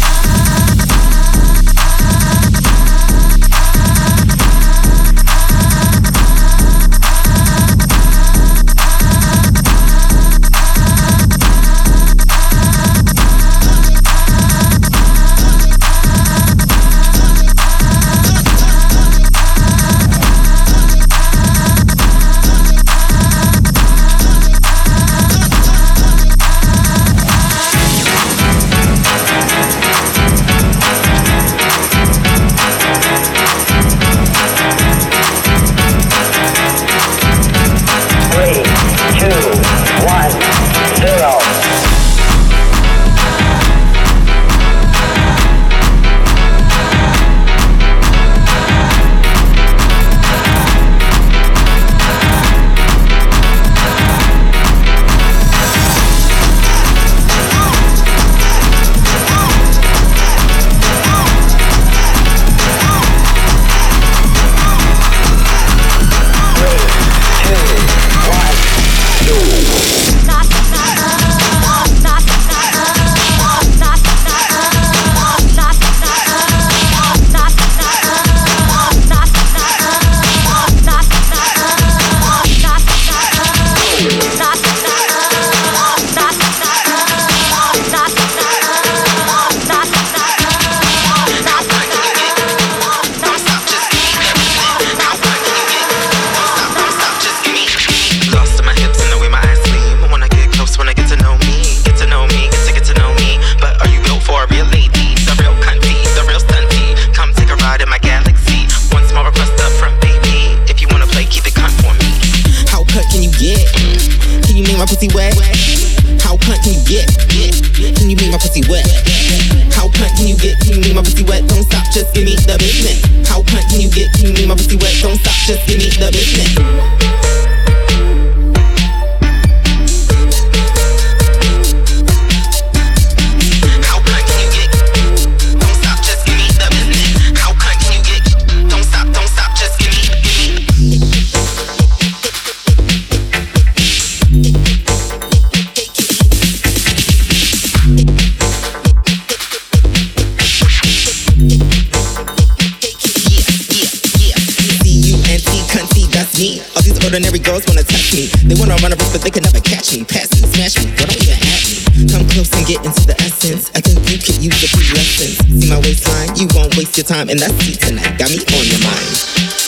Ordinary girls wanna touch me. They wanna run a race, but they can never catch me. Pass me, smash me, don't even at me. Come close and get into the essence. I think you could use a few lessons. See my waistline? You won't waste your time, and that's you tonight. Got me on your mind.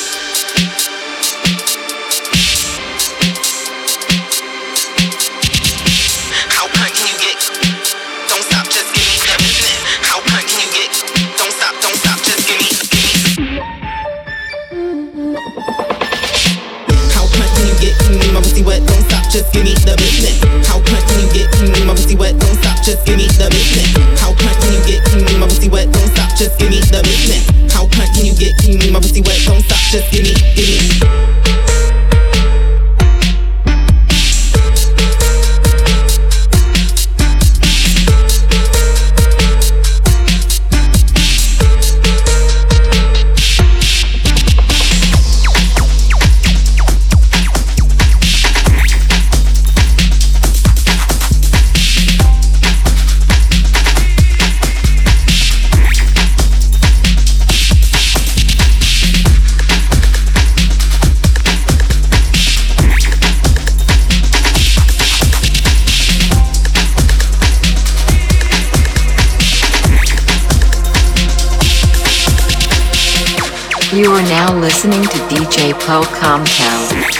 Just give me the business. How cunt can you get? Can you make my pussy wet? Don't stop. Just give me the business. How cunt can you get? Can you make my pussy wet? Don't stop. Just give me the business. How cunt can you get? Can you make my pussy wet? Don't stop. Just give me. You are now listening to DJ Paul Comptel.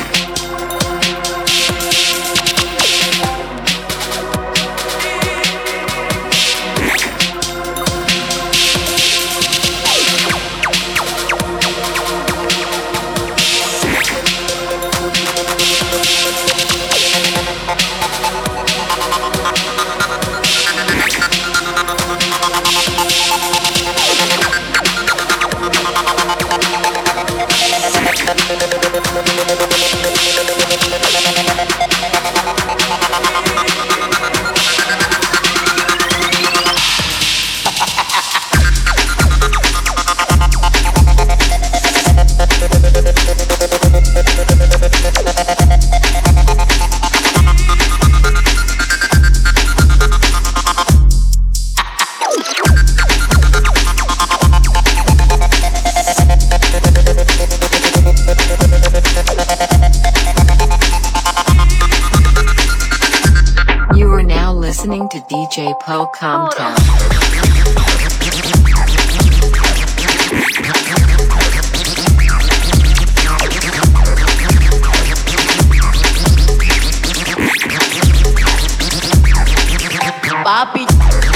We'll be right back. DJ Poe Comtown. Papi.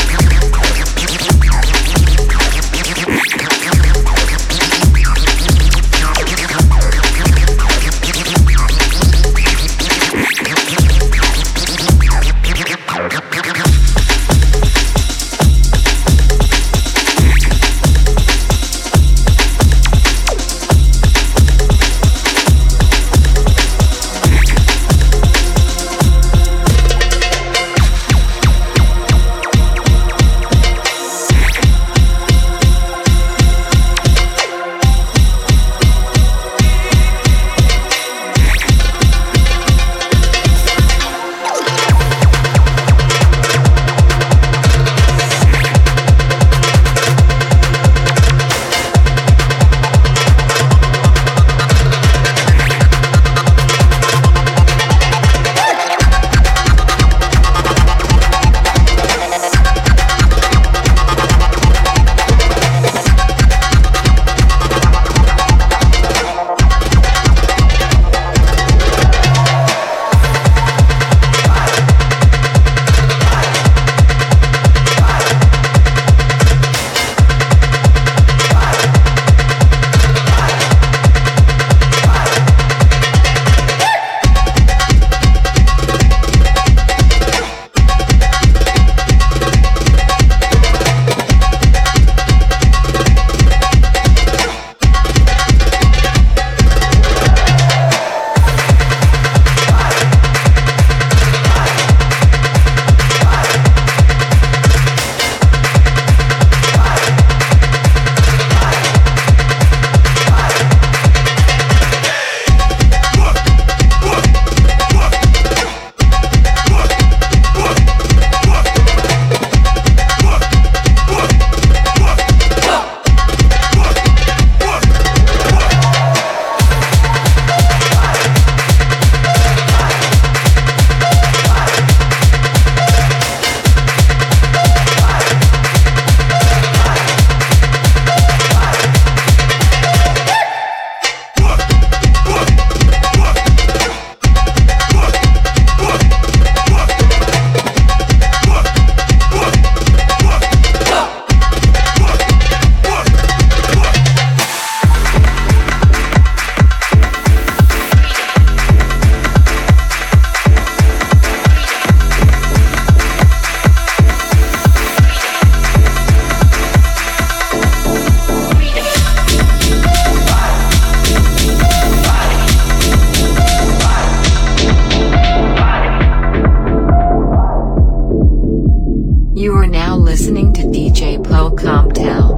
You are now listening to DJ Poe Comtown.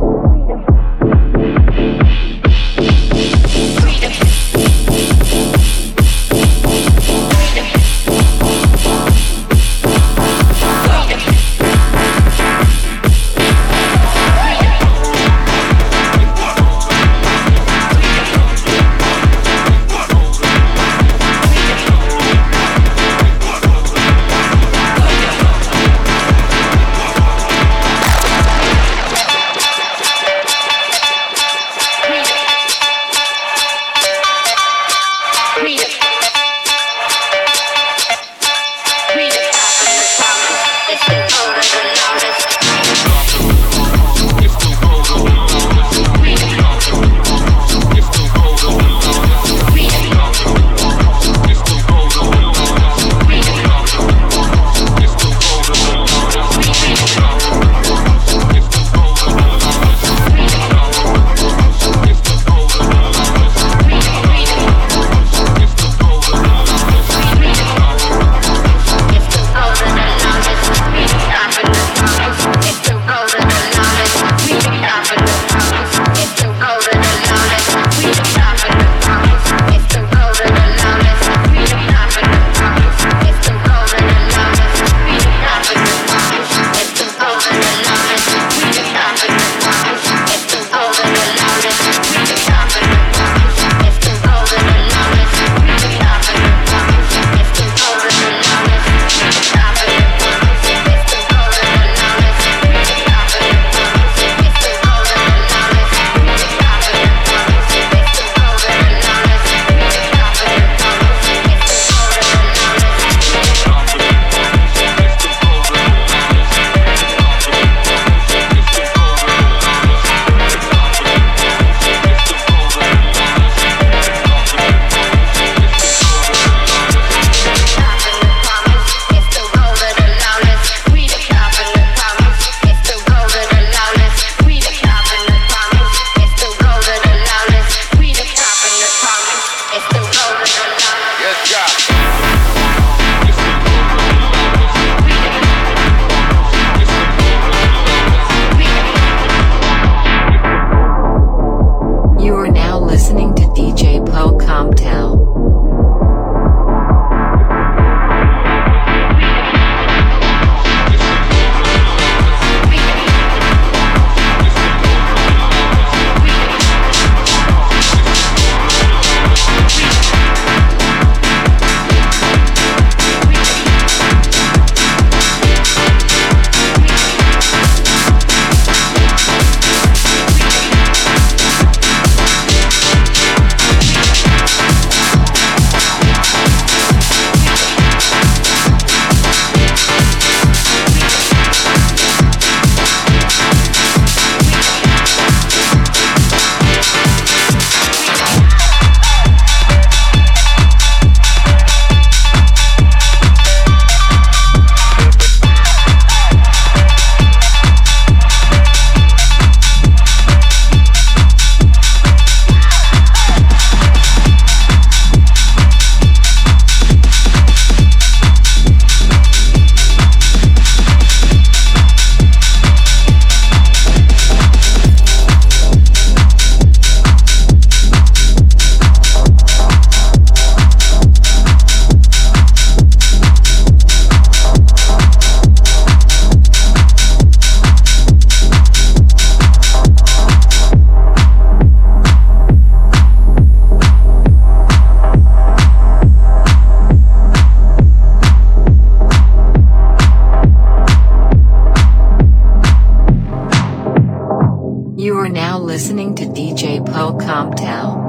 Welcome Town.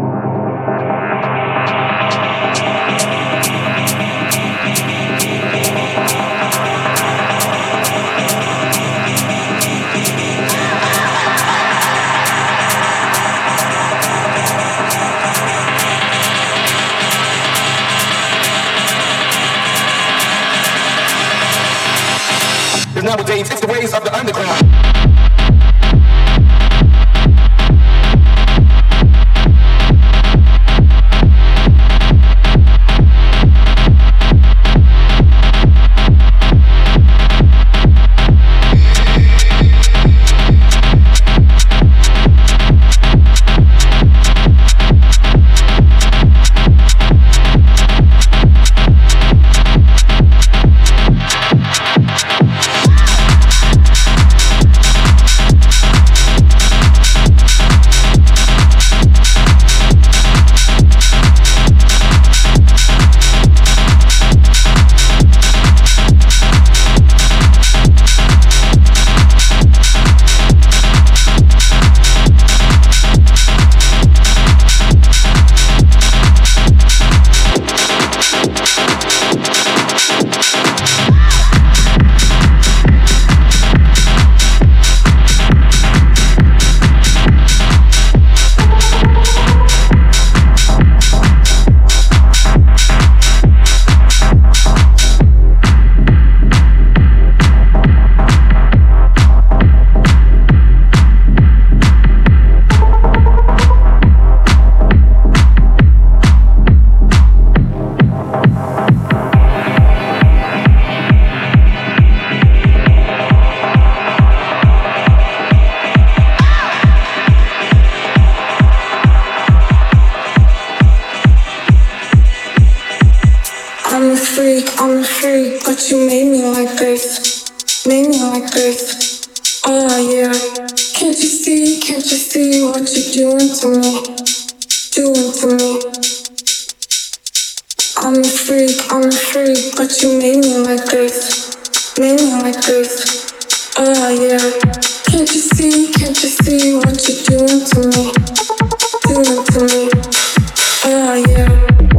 Nowadays, it's the ways of the underground. I'm a freak, but you made me like this. Made me like this. Oh yeah. Can't you see what you're doing to me? Doing to me. I'm a freak, but you made me like this. Made me like this. Oh yeah. Can't you see what you're doing to me? Doing to me. Oh yeah.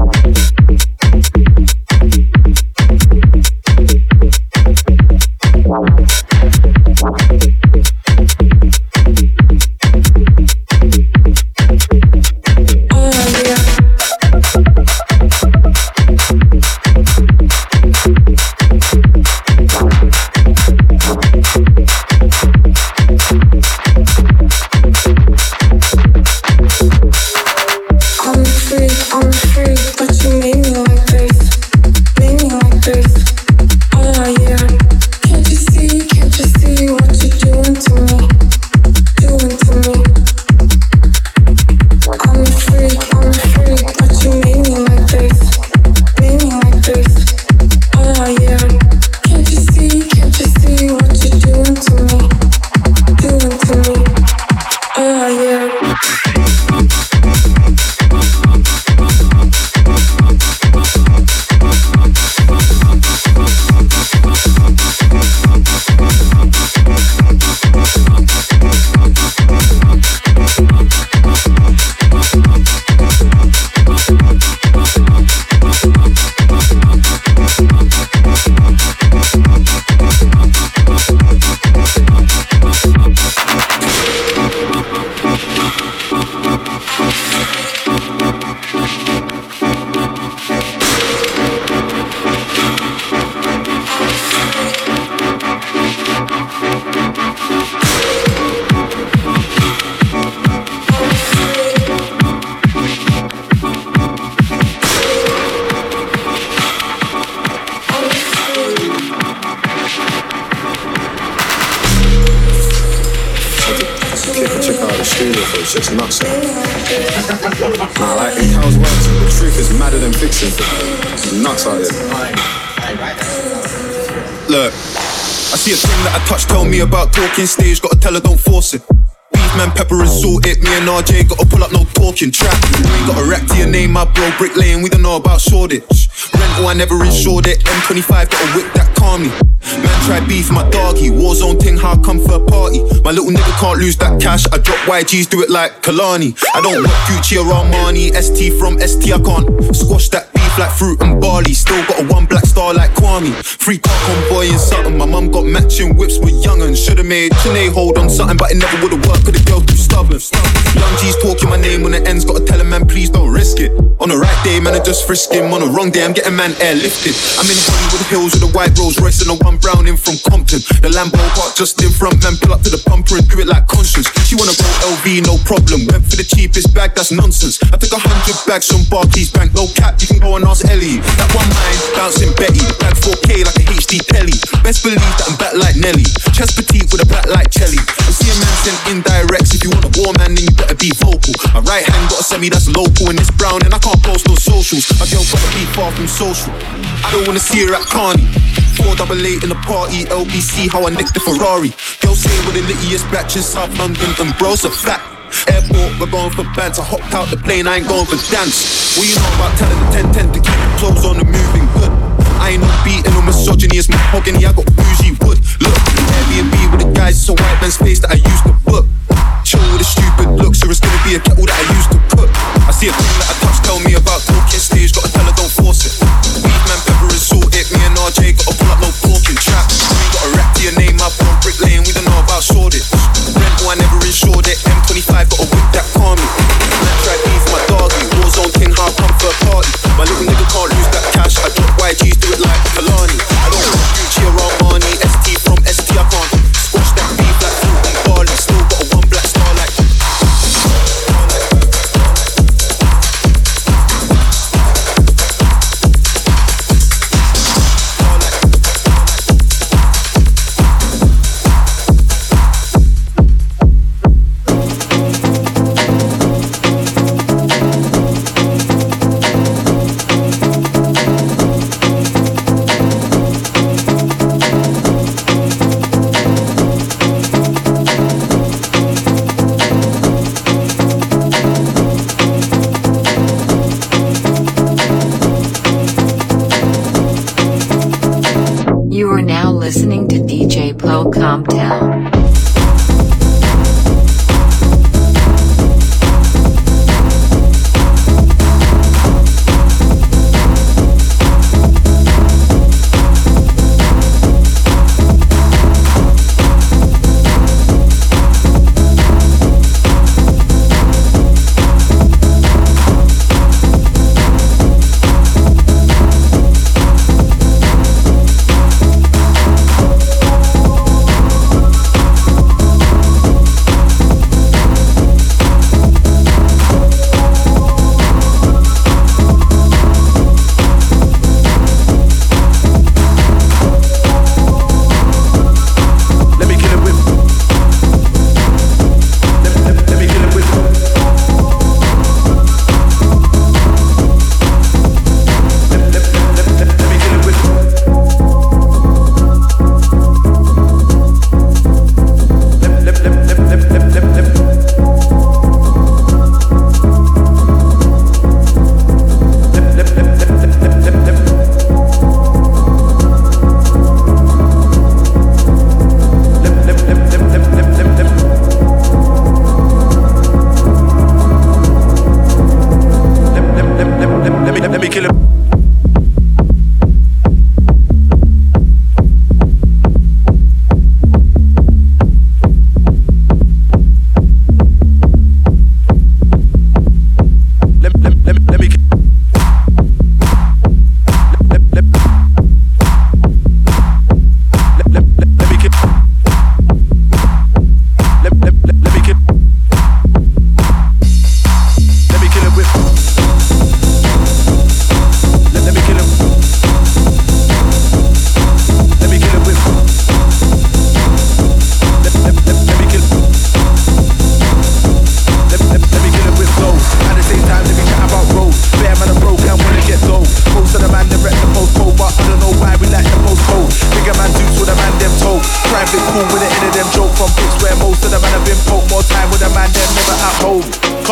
Shit's nuts. Nah, like it counts words. The truth is madder than fiction. It's nuts out here. Look, I see a thing that I touch. Tell me about talking stage. Gotta tell her don't force it. Beef man, pepper and salt it. Me and RJ gotta pull up, no talking trap. You ain't got a rap to your name, my bro. Brick Lane, we don't know about Shoreditch. Rental, I never insured it. M25, gotta whip that calmly. Man, try beef, my doggy. Warzone ting, how come for a party? My little nigga can't lose that cash. I drop YGs, do it like Kalani. I don't want Gucci or Armani. ST from ST, I can't squash that beef like fruit and barley. Still got a one black star like Kwame. Free car convoy and something. My mum got matching whips with young'uns. Should've made Sinead hold on something, but it never would've worked, cause the girl too stubborn. Young G's talking my name when the ends, gotta tell a man please don't risk it. On the right day, man, I just frisk him. On the wrong day, I'm getting man airlifted. I'm in Hollywood Hills with a white Rolls Royce and a one brown in from Compton. The Lambo park just in front, man, pull up to the bumper and do it like Conscience. She wanna go LV, no problem. Went for the cheapest bag, that's nonsense. I took 100 bags from Barclays Bank, no cap, you can go and ask Ellie. That one mine, bouncing Betty. Bag 4K like a HD telly. Best believe that I'm back like Nelly. Chest petite with a back like Chelly. I see a man send indirects. If you want a war man, then you better be vocal. My right hand got a semi that's local and it's brown and I can't post on socials. My girl gotta be far from social. I don't wanna see her at Carney. 488 in the party, LBC, how I nicked the Ferrari. Girl say we're the littiest batch in South London and bro's a fact. Airport, we're going for bands. I hopped out the plane, I ain't going for dance. What you know about telling the 10-10 to keep the clothes on the moving good? I ain't no beating or misogyny, it's mahogany, I got bougie wood. Look, Airbnb with the guys, it's a white man's face that I used to book. Chill with a stupid look, so it's gonna be a kettle that I used to cook. I see a thing that I touch, tell me about talking stage, gotta tell her don't force it. Beef man, pepper and salt it, me and RJ gotta pull up, no talking trap. You ain't got a rap to your name, my bro. Brick Lane, we don't know about Shoreditch. Rental, I never insured it. M25, gotta whip that calmly. Man, try beef, my doggy. Warzone ting, how come for a party? My little nigga can't lose that cash. I drop YGs, do it like Kalani. I don't want Gucci or Armani. ST from ST, I can't squash that beef like fruit and barley. Still got a one black star like. You are now listening to DJ Plocom Town.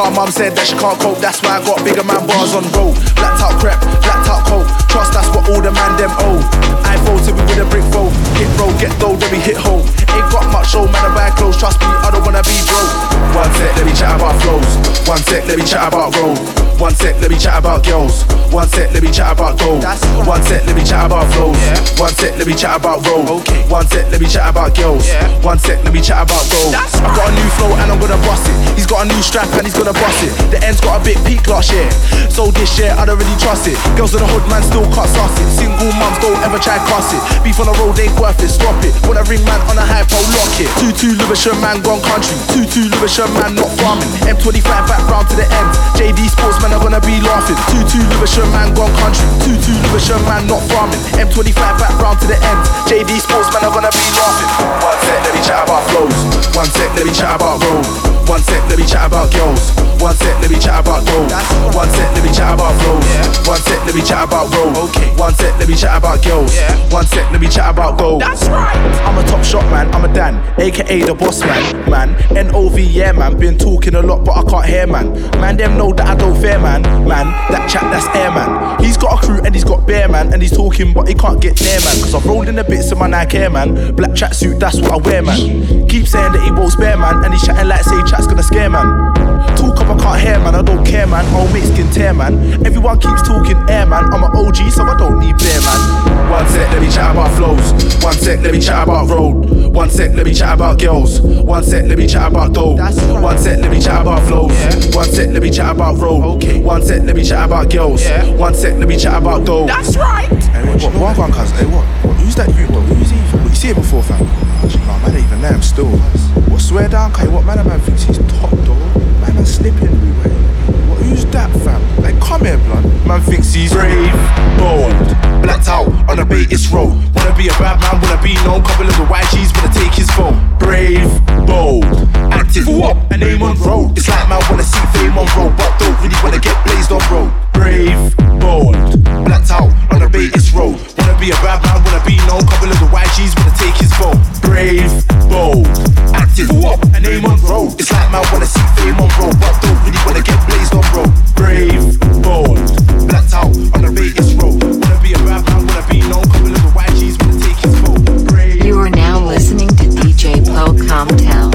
car, mum said that she can't cope. That's why I got bigger man bars on road. Blacked out crap, blacked out coke. Trust that's what all the man them owe. I voted with a brick roll. Hit roll, get dough, then we hit home. Ain't got much show, man, I buy clothes. Trust me, I don't wanna be broke. One sec, let me chat about flows. One sec, let me chat about road. One sec, let me chat about girls. One sec, let me chat about gold. One sec, let me chat about flows. One sec, let me chat about road. One sec, let me chat about girls. One sec, let me chat about gold. I've got a new flow and I'm gonna bust it. He's got a new strap and he's gonna bust it. The end's got a big peak last year, so this year I don't really trust it. Girls in the hood, man, still can't suss it. Single mums don't ever try cuss it. Beef on the road ain't worth it, stop it. When I ring man on a hypo, lock it. 2-2 Lewisham man gone country. 2-2 Lewisham man not farming. M25 back round to the end. JD Sports man are gonna be laughing. 2-2 Lewisham man gone country. 2-2 Lewisham man not farming. M25 back round to the end. JD Sports man are gonna be laughing. One sec, let me chat about flows. One sec, let me chat about road. One sec, let me chat about girls. One sec, let me chat about gold. One sec, let me chat about flows. One sec, let me chat about road. One sec, let me chat about girls. One sec, let me chat about gold. That's right. I'm a top shot man, I'm a Dan, aka the boss man. Man, NOV, yeah man. Been talking a lot, but I can't hear man. Man, them know that I don't fear man. Man, that chat, that's air man. He's got a crew and he's got bear man. And he's talking, but he can't get near man. Cause I've rolled in the bits of my Nike Air man. Black tracksuit, that's what I wear man. Keep saying that he won't spare man. And he's chatting like say chat's gonna scare man. Talk up, I can't hear man, I don't care man. Old mate skin tear man. Everyone keeps talking air man. I'm an OG, so I don't need bear man. One sec, let me chat about flows. One sec, let me chat about road. One sec, let me chat about girls. One sec, let me chat about dough. One sec, let me chat about flows. One sec, let me chat about road. One sec, let me chat about girls. One sec, let me chat about dough. That's right. Hey, what one cuz? Hey, what? Who's that you though? Who's he? What, you see it before, fam? Nah, man, ain't even there, I'm still. What, swear down, Kai? What man thinks he's top though? Man, slipping everywhere. What, who's that, fam? Like, come here, blood. Man thinks he's brave, bold, blacked out on a Bates road. Wanna be a bad man, wanna be known. Couple of the YGs wanna take his phone. Brave, bold, active, what? A name on road. It's like man wanna see fame on road, but don't really wanna get blazed on road. Brave, bold, blacked out on a Bates road. Wanna be a bad man, wanna be known. Couple of the YGs wanna take his phone. Brave, bold, active, what? A name on road. It's like man wanna see fame on road, but don't really wanna get blazed on road. Brave, bold, blacked out on a Bates road. Wanna be a bad man, wanna be known. Couple of the YGs wanna take his phone. Brave. You are now listening to DJ Poe Comtown.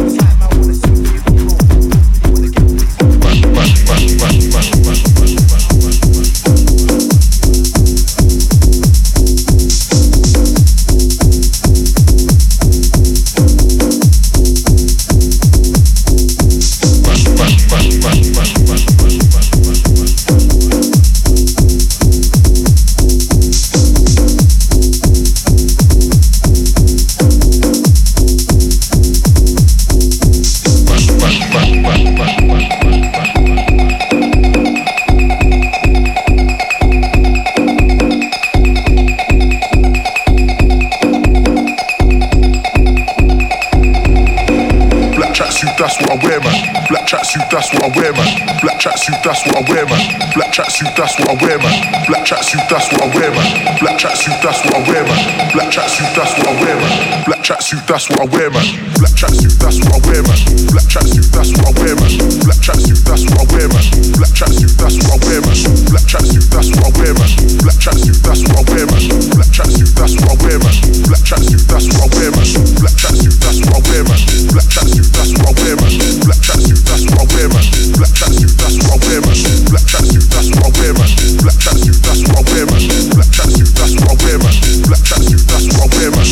That's what I wear, man. Black tracksuit, that's what I wear, man. Black tracksuit, that's what I wear, man. Black tracksuit, that's what I wear, man. Black tracksuit, that's what I wear, man. Black tracksuit, that's what I wear, man. Black tracksuit, that's what I wear, man. Black tracksuit, that's what I wear, man. Black tracksuit, that's what I wear, man. Black tracksuit, that's what I wear, man. Black tracksuit, that's what I wear, man. Black tracksuit, that's what I wear, man. Black tracksuit, that's what I wear, man. Black tracksuit, that's what I wear, man. Black tracksuit, that's what I wear, man. Black tracksuit, that's what I wear, man. Black tracksuit, that's what I wear, man. Black tracksuit, that's what I wear, man. Black tracksuit, that's what I wear, man. Black tracksuit, that's what I wear, man. Black tracksuit, that's what I wear, man. Black tracksuit, that's what I wear, man. Black tracksuit, that's what I wear, man. Black tracksuit, that's what I wear, man.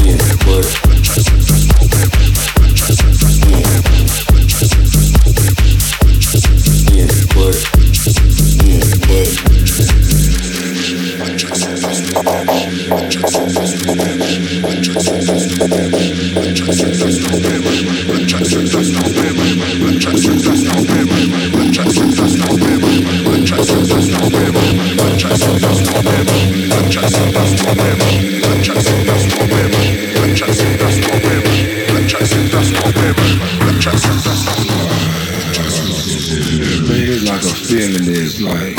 Like a feeling is like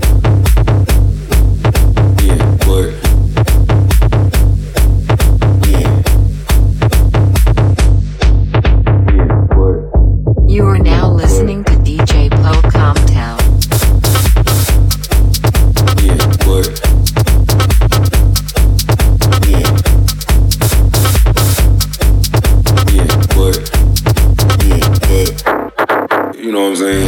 You are now listening to DJ Poe Comtown. you know what I'm saying?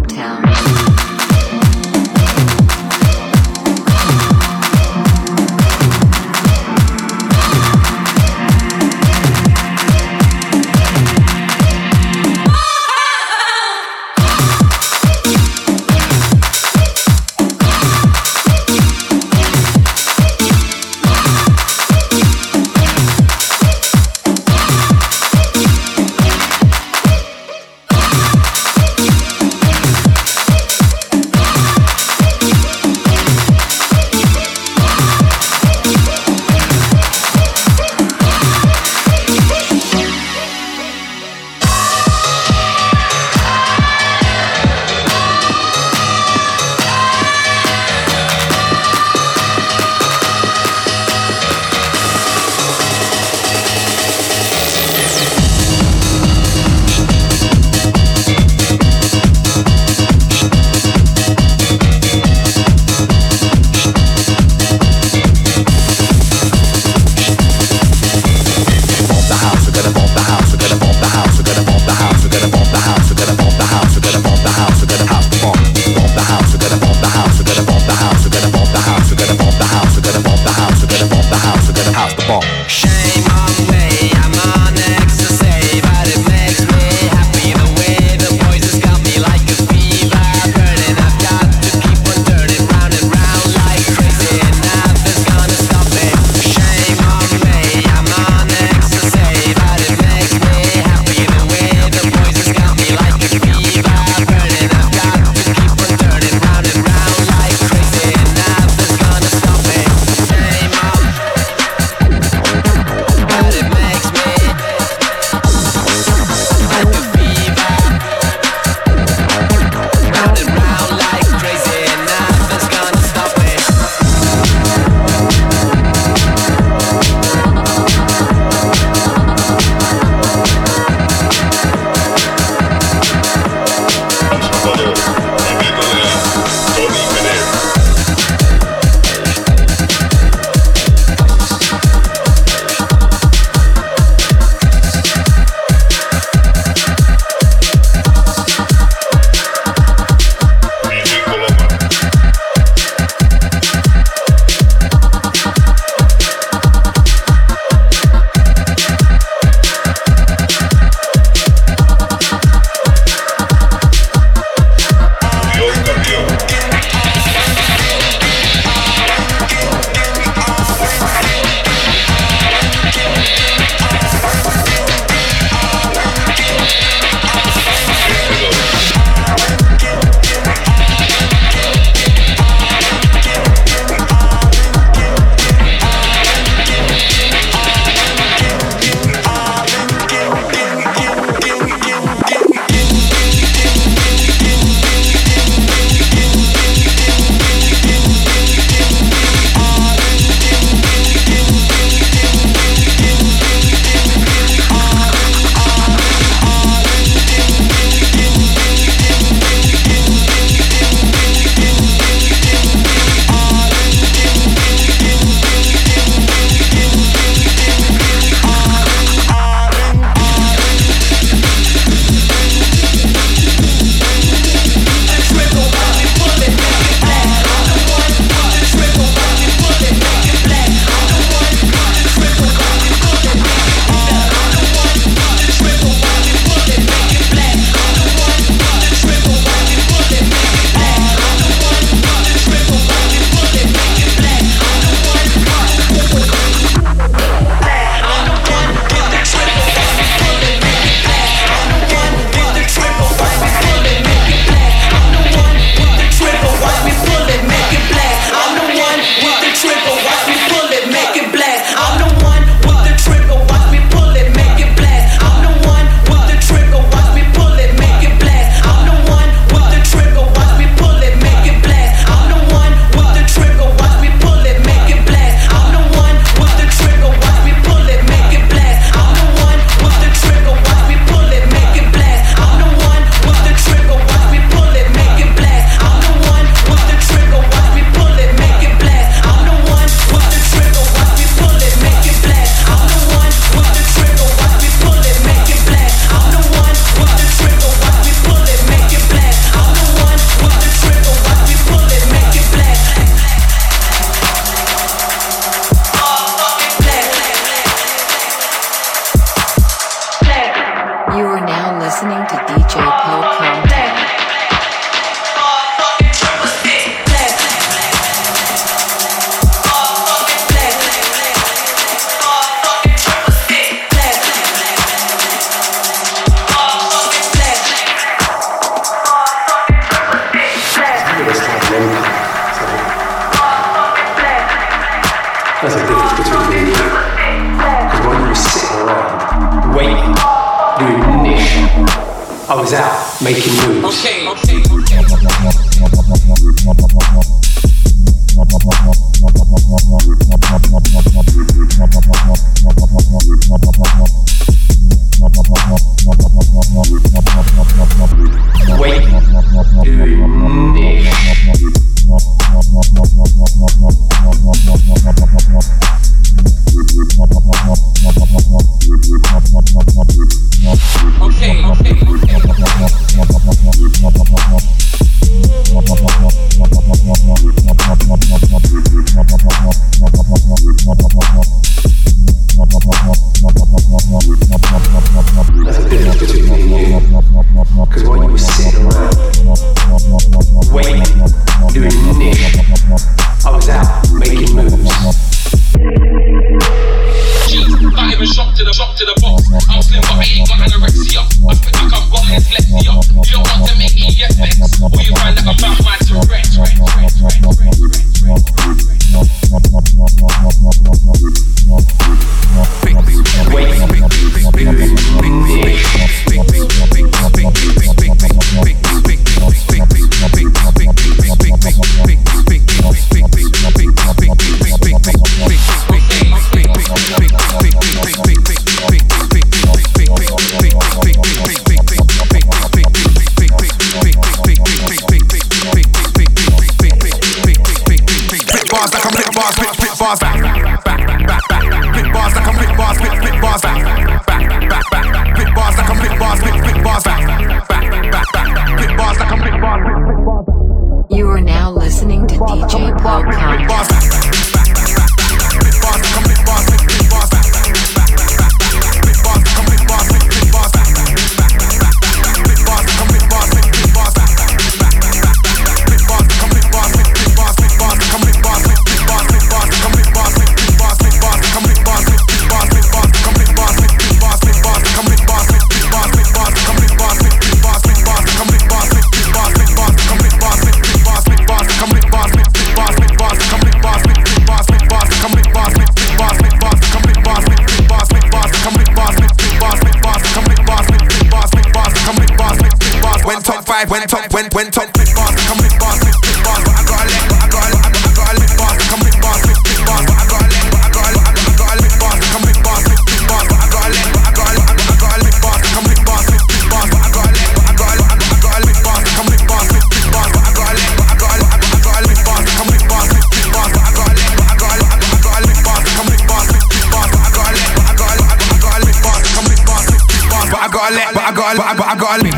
Dogtown. I was out making moves. Wait, that's a difference between me and you. Because while you were sitting around, waiting, doing niche, I was out making moves. Not even shocked to the box. I'm slim but I ain't got anorexia. I feel like I'm got dyslexia. You don't want to make me flex, or you find that I'm about my Tourette's. You are now listening to DJ Paul Countdown. When top big bars, come big bars, big bars, but I gotta let bars, come big bars, big bars, but I gotta let bars, come big bars, big bars, but I gotta let bars, come big bars, big bars, but I gotta let bars, come big bars, big bars, but I gotta let bars, come big bars, big bars, but I gotta let bars, come big bars, big bars, but I gotta let bars, come big bars, big bars, but I gotta let.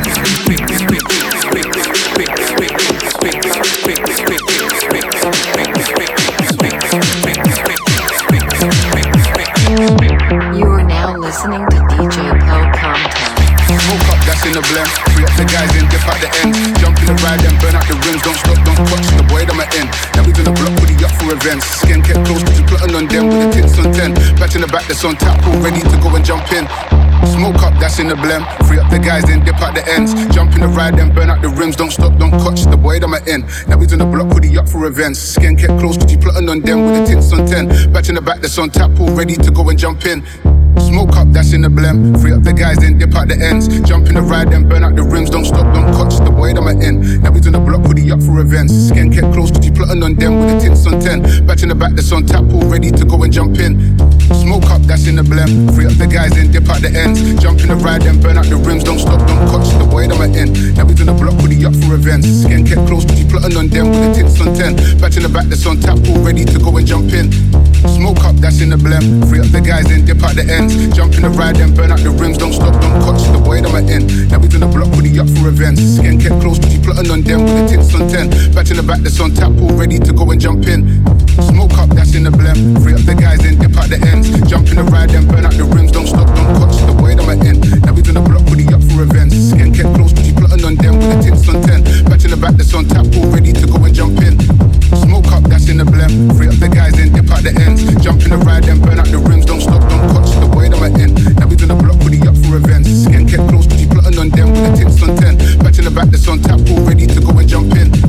You are now listening to DJ Paul Countdown. Smoke up, that's in the blend. Free up the guys in, dip at the end. Jump in the ride and burn out the rims. Don't stop, don't watch the boy that I'm in. Now we in the block with the up for events. Skin kept close, cause you plotting on them with the tits on 10. Back in the back, that's on tap, all ready to go and jump in. Smoke up, that's in the blem. Free up the guys, then dip out the ends. Jump in the ride, then burn out the rims. Don't stop, don't catch the boy that I'm in. Now he's in the block with the up for events. Skin kept close, cause you plotting on them with the tits on 10. Back in the back, that's on tap, all ready to go and jump in. Smoke up, that's in the blem. Free up the guys, then dip out the ends. Jump in the ride, then burn out the rims. Don't stop, don't catch the boy that I'm in. Now he's in the block with the up for events. Skin kept close, cause you plotting on them with the tits on 10. Back in the back, that's on tap, all ready to go and jump in. Smoke up, that's in the blem. Free up the guys, then dip out the ends. Jump in the ride, then burn out the rims. Don't stop, don't catch the boy that I'm in. Now he's in the block with the up for events. Skin kept close, cause you plotting on them with the tits on 10. Back in the back, that's on tap, all ready to go and jump in. Smoke up, that's in the blem. Free up the guys, then dip out the ends. Jump in the ride, then burn out the rims. Don't stop, don't catch the boy that I'm in. Now he's in the block with the up for events. Skin kept close, cause you plotting on them with the tits on 10. Back in the back, that's on tap, all ready to go and jump in. Smoke up, that's in the blem. Free up the guys, then dip out the ends. Jump in the ride, then burn out the rims. Don't stop, don't catch the boy that I'm in. Now he's in the block with the up for events. Skin kept close, cause you plotting on them with the tits on 10. Back in the back, that's on tap, all ready to go and jump in. Smoke up, that's in the blem. Free up the guys, then dip out the ends. Jump in the ride, then burn out the rims. Don't stop, don't catch the boy that I'm in. Now he's in the block with the up for events. Skin kept close, cause you plotting on them with the tits on 10. Back in the back, that's on tap, all ready to go and jump in.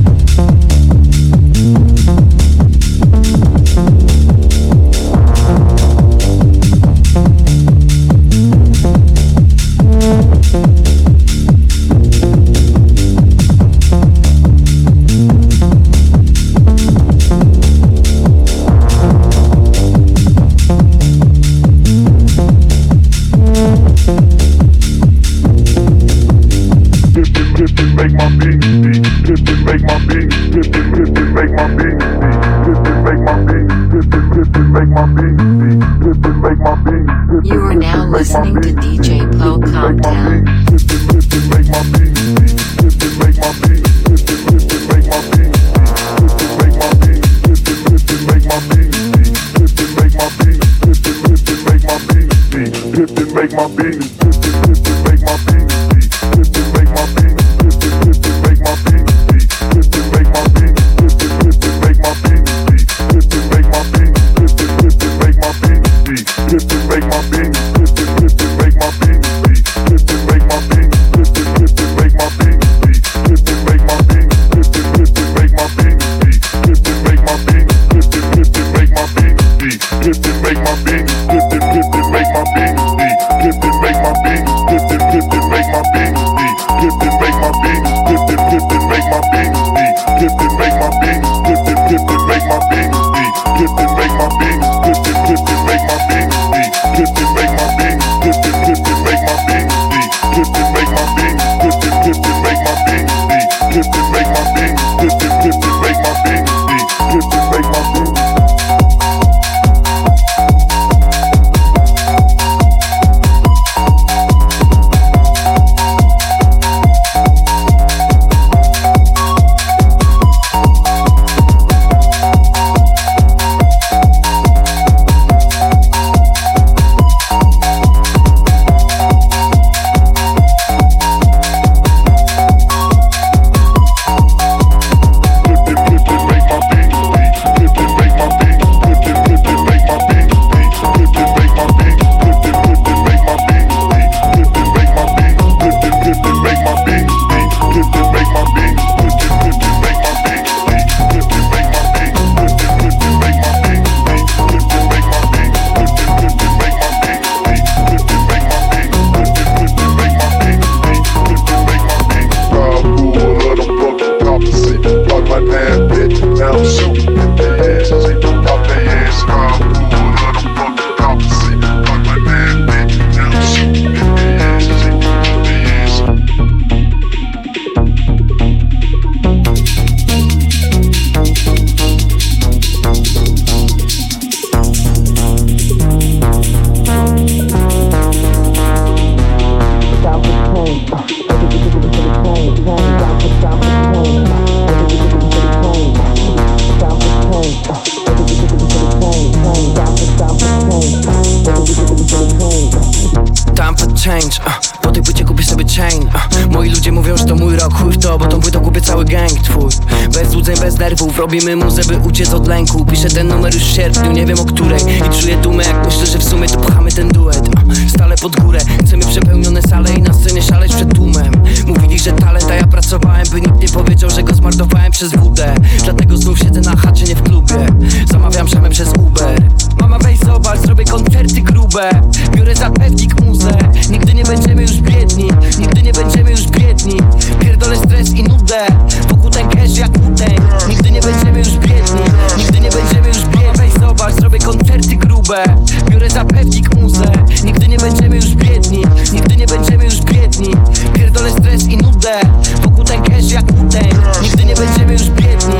twój. Bez złudzeń, bez nerwów, robimy muzę, by uciec od lęku. Piszę ten numer już w sierpniu, nie wiem o której. I czuję dumę, jak myślę, że w sumie to pchamy ten duet. Stale pod górę, chcemy przepełnione sale i na scenie szaleć przed tłumem. Mówili, że talent, a ja pracowałem, by nikt nie powiedział, że go zmarnowałem przez wódę. Dlatego znów siedzę na chacie, nie w klubie. Zamawiam szamę przez Uber. Mama, weź zobacz, zrobię koncerty grube. Biorę za pewnik muzę. Nigdy nie będziemy już biedni, nigdy nie będziemy już biedni. Pierdolę stres i nudę, wokół ten cash jak utęg. Nigdy nie będziemy już biedni, nigdy nie będziemy już biedni. Weź zobacz, zrobię koncerty grube. Biorę za pewnik muzę. Nigdy nie będziemy już biedni, nigdy nie będziemy już biedni. Pierdolę stres i nudę, wokół ten cash jak utęg. Nigdy nie będziemy już biedni.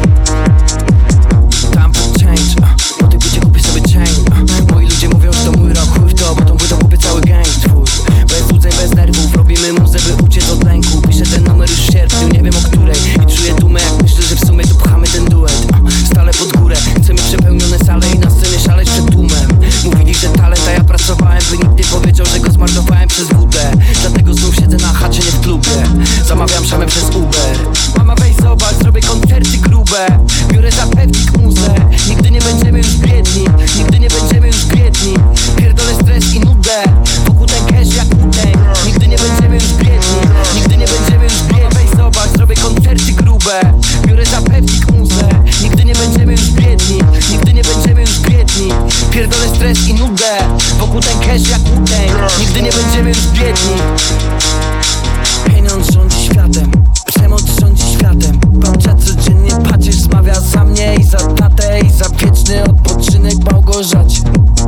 Tam pod change, po tej płycie kupię sobie chain. Moi ludzie mówią, że to mój rok, chuj w to, bo tą płytą kupię cały gang twój. Bez złudzeń, bez nerwów, robimy muzę, by uciec od lęku. Piszę ten numer już w sierpniu, nie wiem o której. I czuję dumę, jak myślę, że w sumie to pchamy ten duet. Stale pod górę, chcemy przepełnione sale i na scenie szaleć przed tłumem. Mówili, że talent, a ja pracowałem, by nikt nie powiedział, że go zmarnowałem przez wódę. Dlatego znów siedzę na chacie, nie w klubie. Zamawiam szamę przez Uber. Mama, weź zobacz, zrobię koncerty grube. Biorę za pewnik muzę. Nigdy nie będziemy już biedni, nigdy nie będziemy już biedni. Pierdolę stres i nudę, wokół ten cash jak utęg. Nigdy nie będziemy już biedni, nigdy nie będziemy już biedni. Weź zobacz, zrobię koncerty grube. Biorę za pewnik muzę. Nigdy nie będziemy już biedni, nigdy nie będziemy już biedni. Pierdolę stres i nudę, wokół ten cash jak utęg. Nigdy nie będziemy już biedni. Pieniądz rządzi światem, przemoc rządzi światem. Babcia codziennie pacierz zmawia za mnie i za tatę i za wieczny odpoczynek Małgorzacie.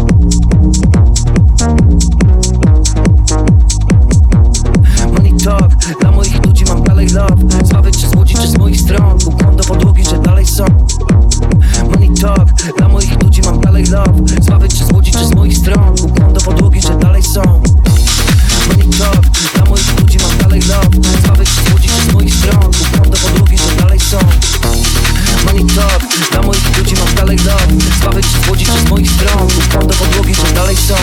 Money talk, dla moich ludzi mam dalej love. Zbawić czy z łodzi, czy z moich stron. Ukłon do podłogi, że dalej są. Money talk, dla moich ludzi mam dalej love. Zbawić czy z łodzi, czy z moich stron. Ukłon do podłogi, że dalej są. Money talk, dla moich ludzi mam dalej love. Zbawić czy z łodzi, czy z moich stron. Ukłon do podłogi, że dalej są. Money talk, dla moich ludzi mam dalej love. Zbawić czy z łodzi, czy z moich stron. Ukłon do podłogi, że dalej są.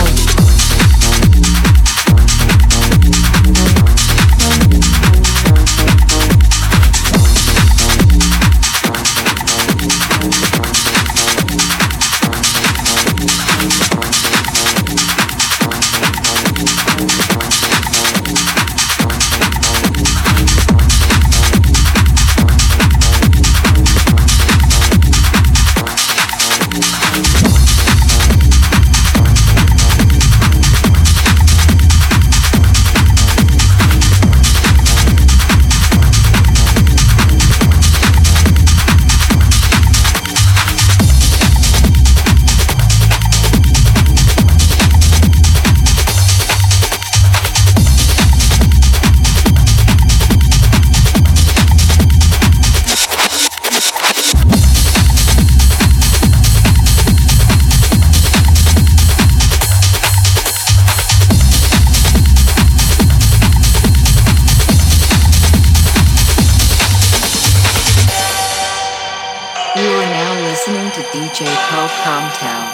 DJ Poe Comtown.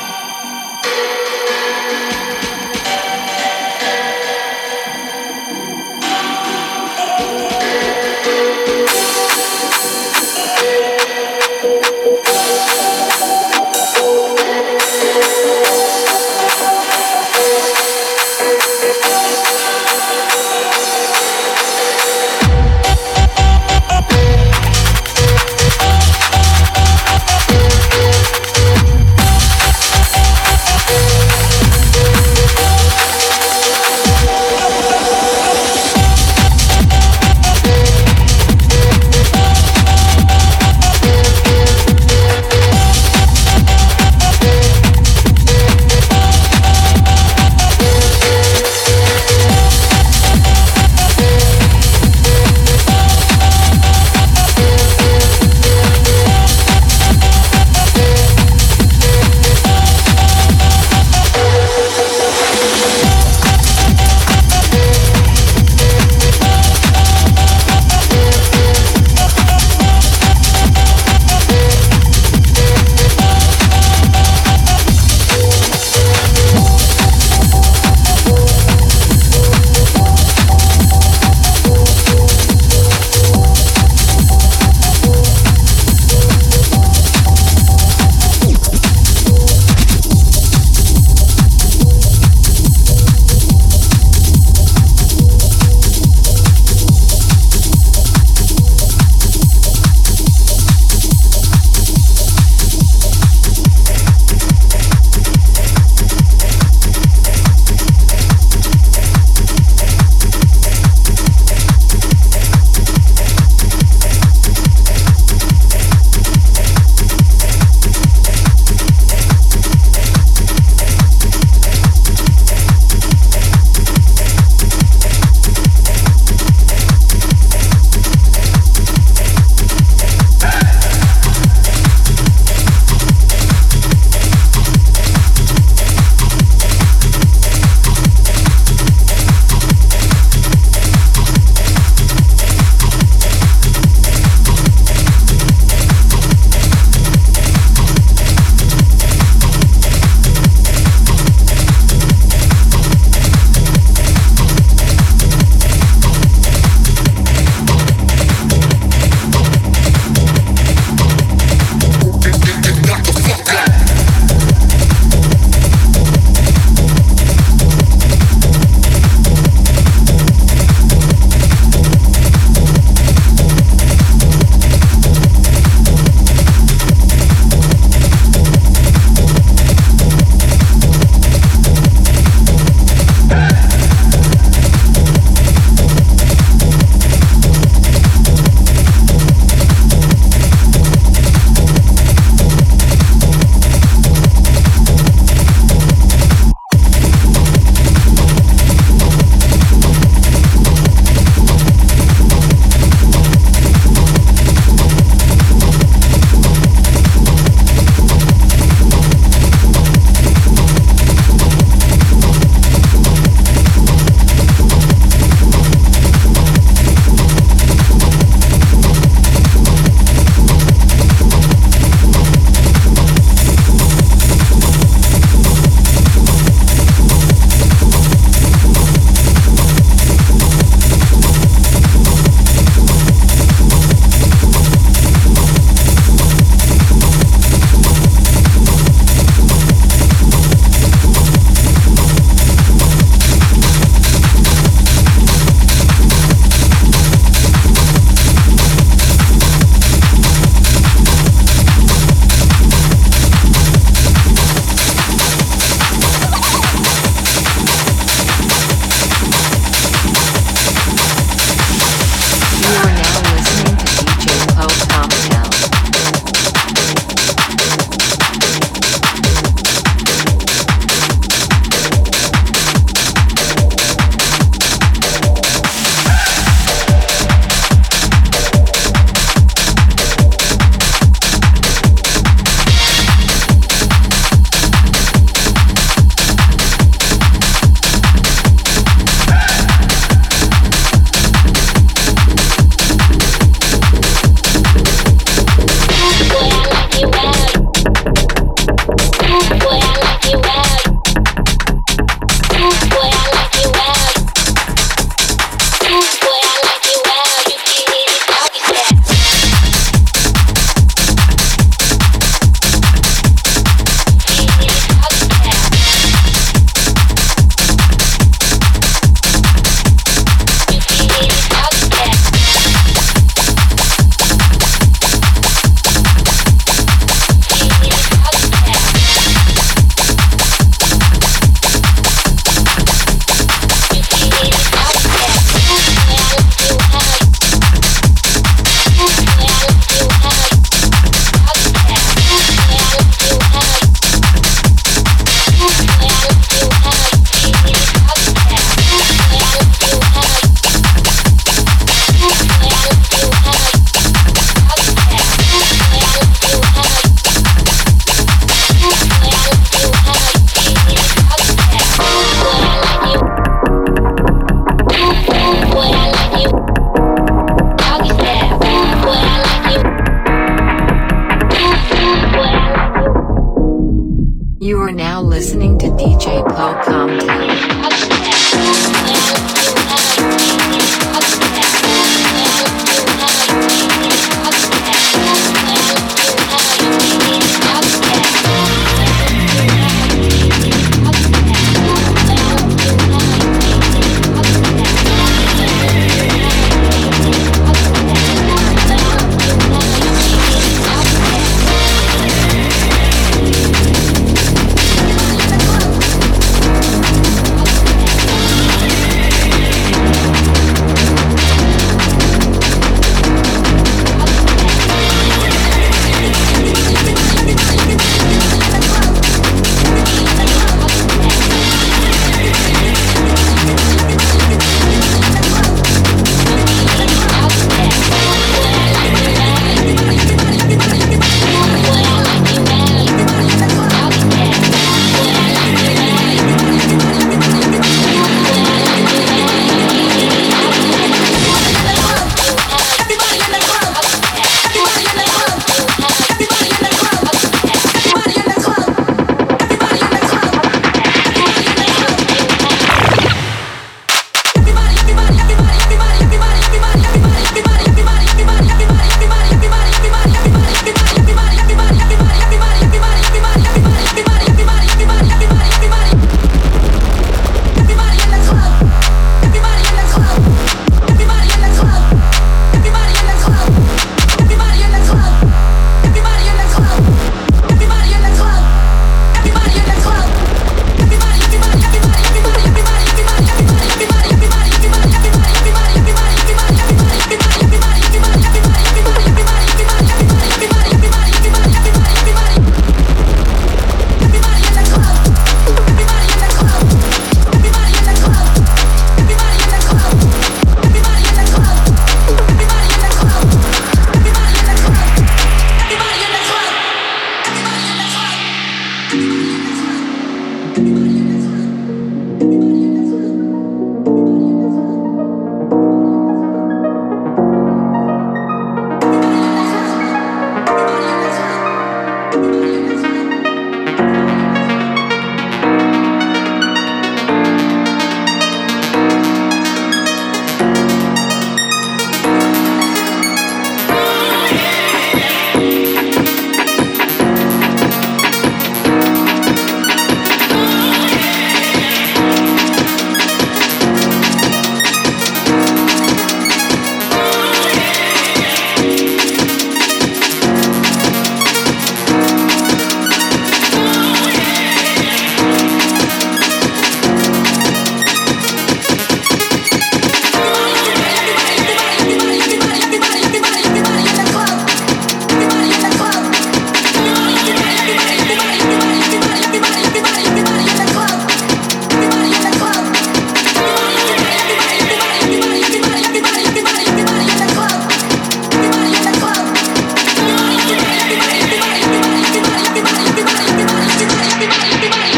You are now listening to DJ Pocom Town.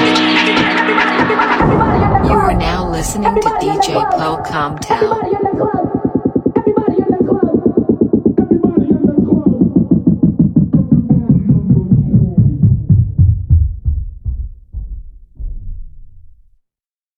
Listening to DJ Pocom Town.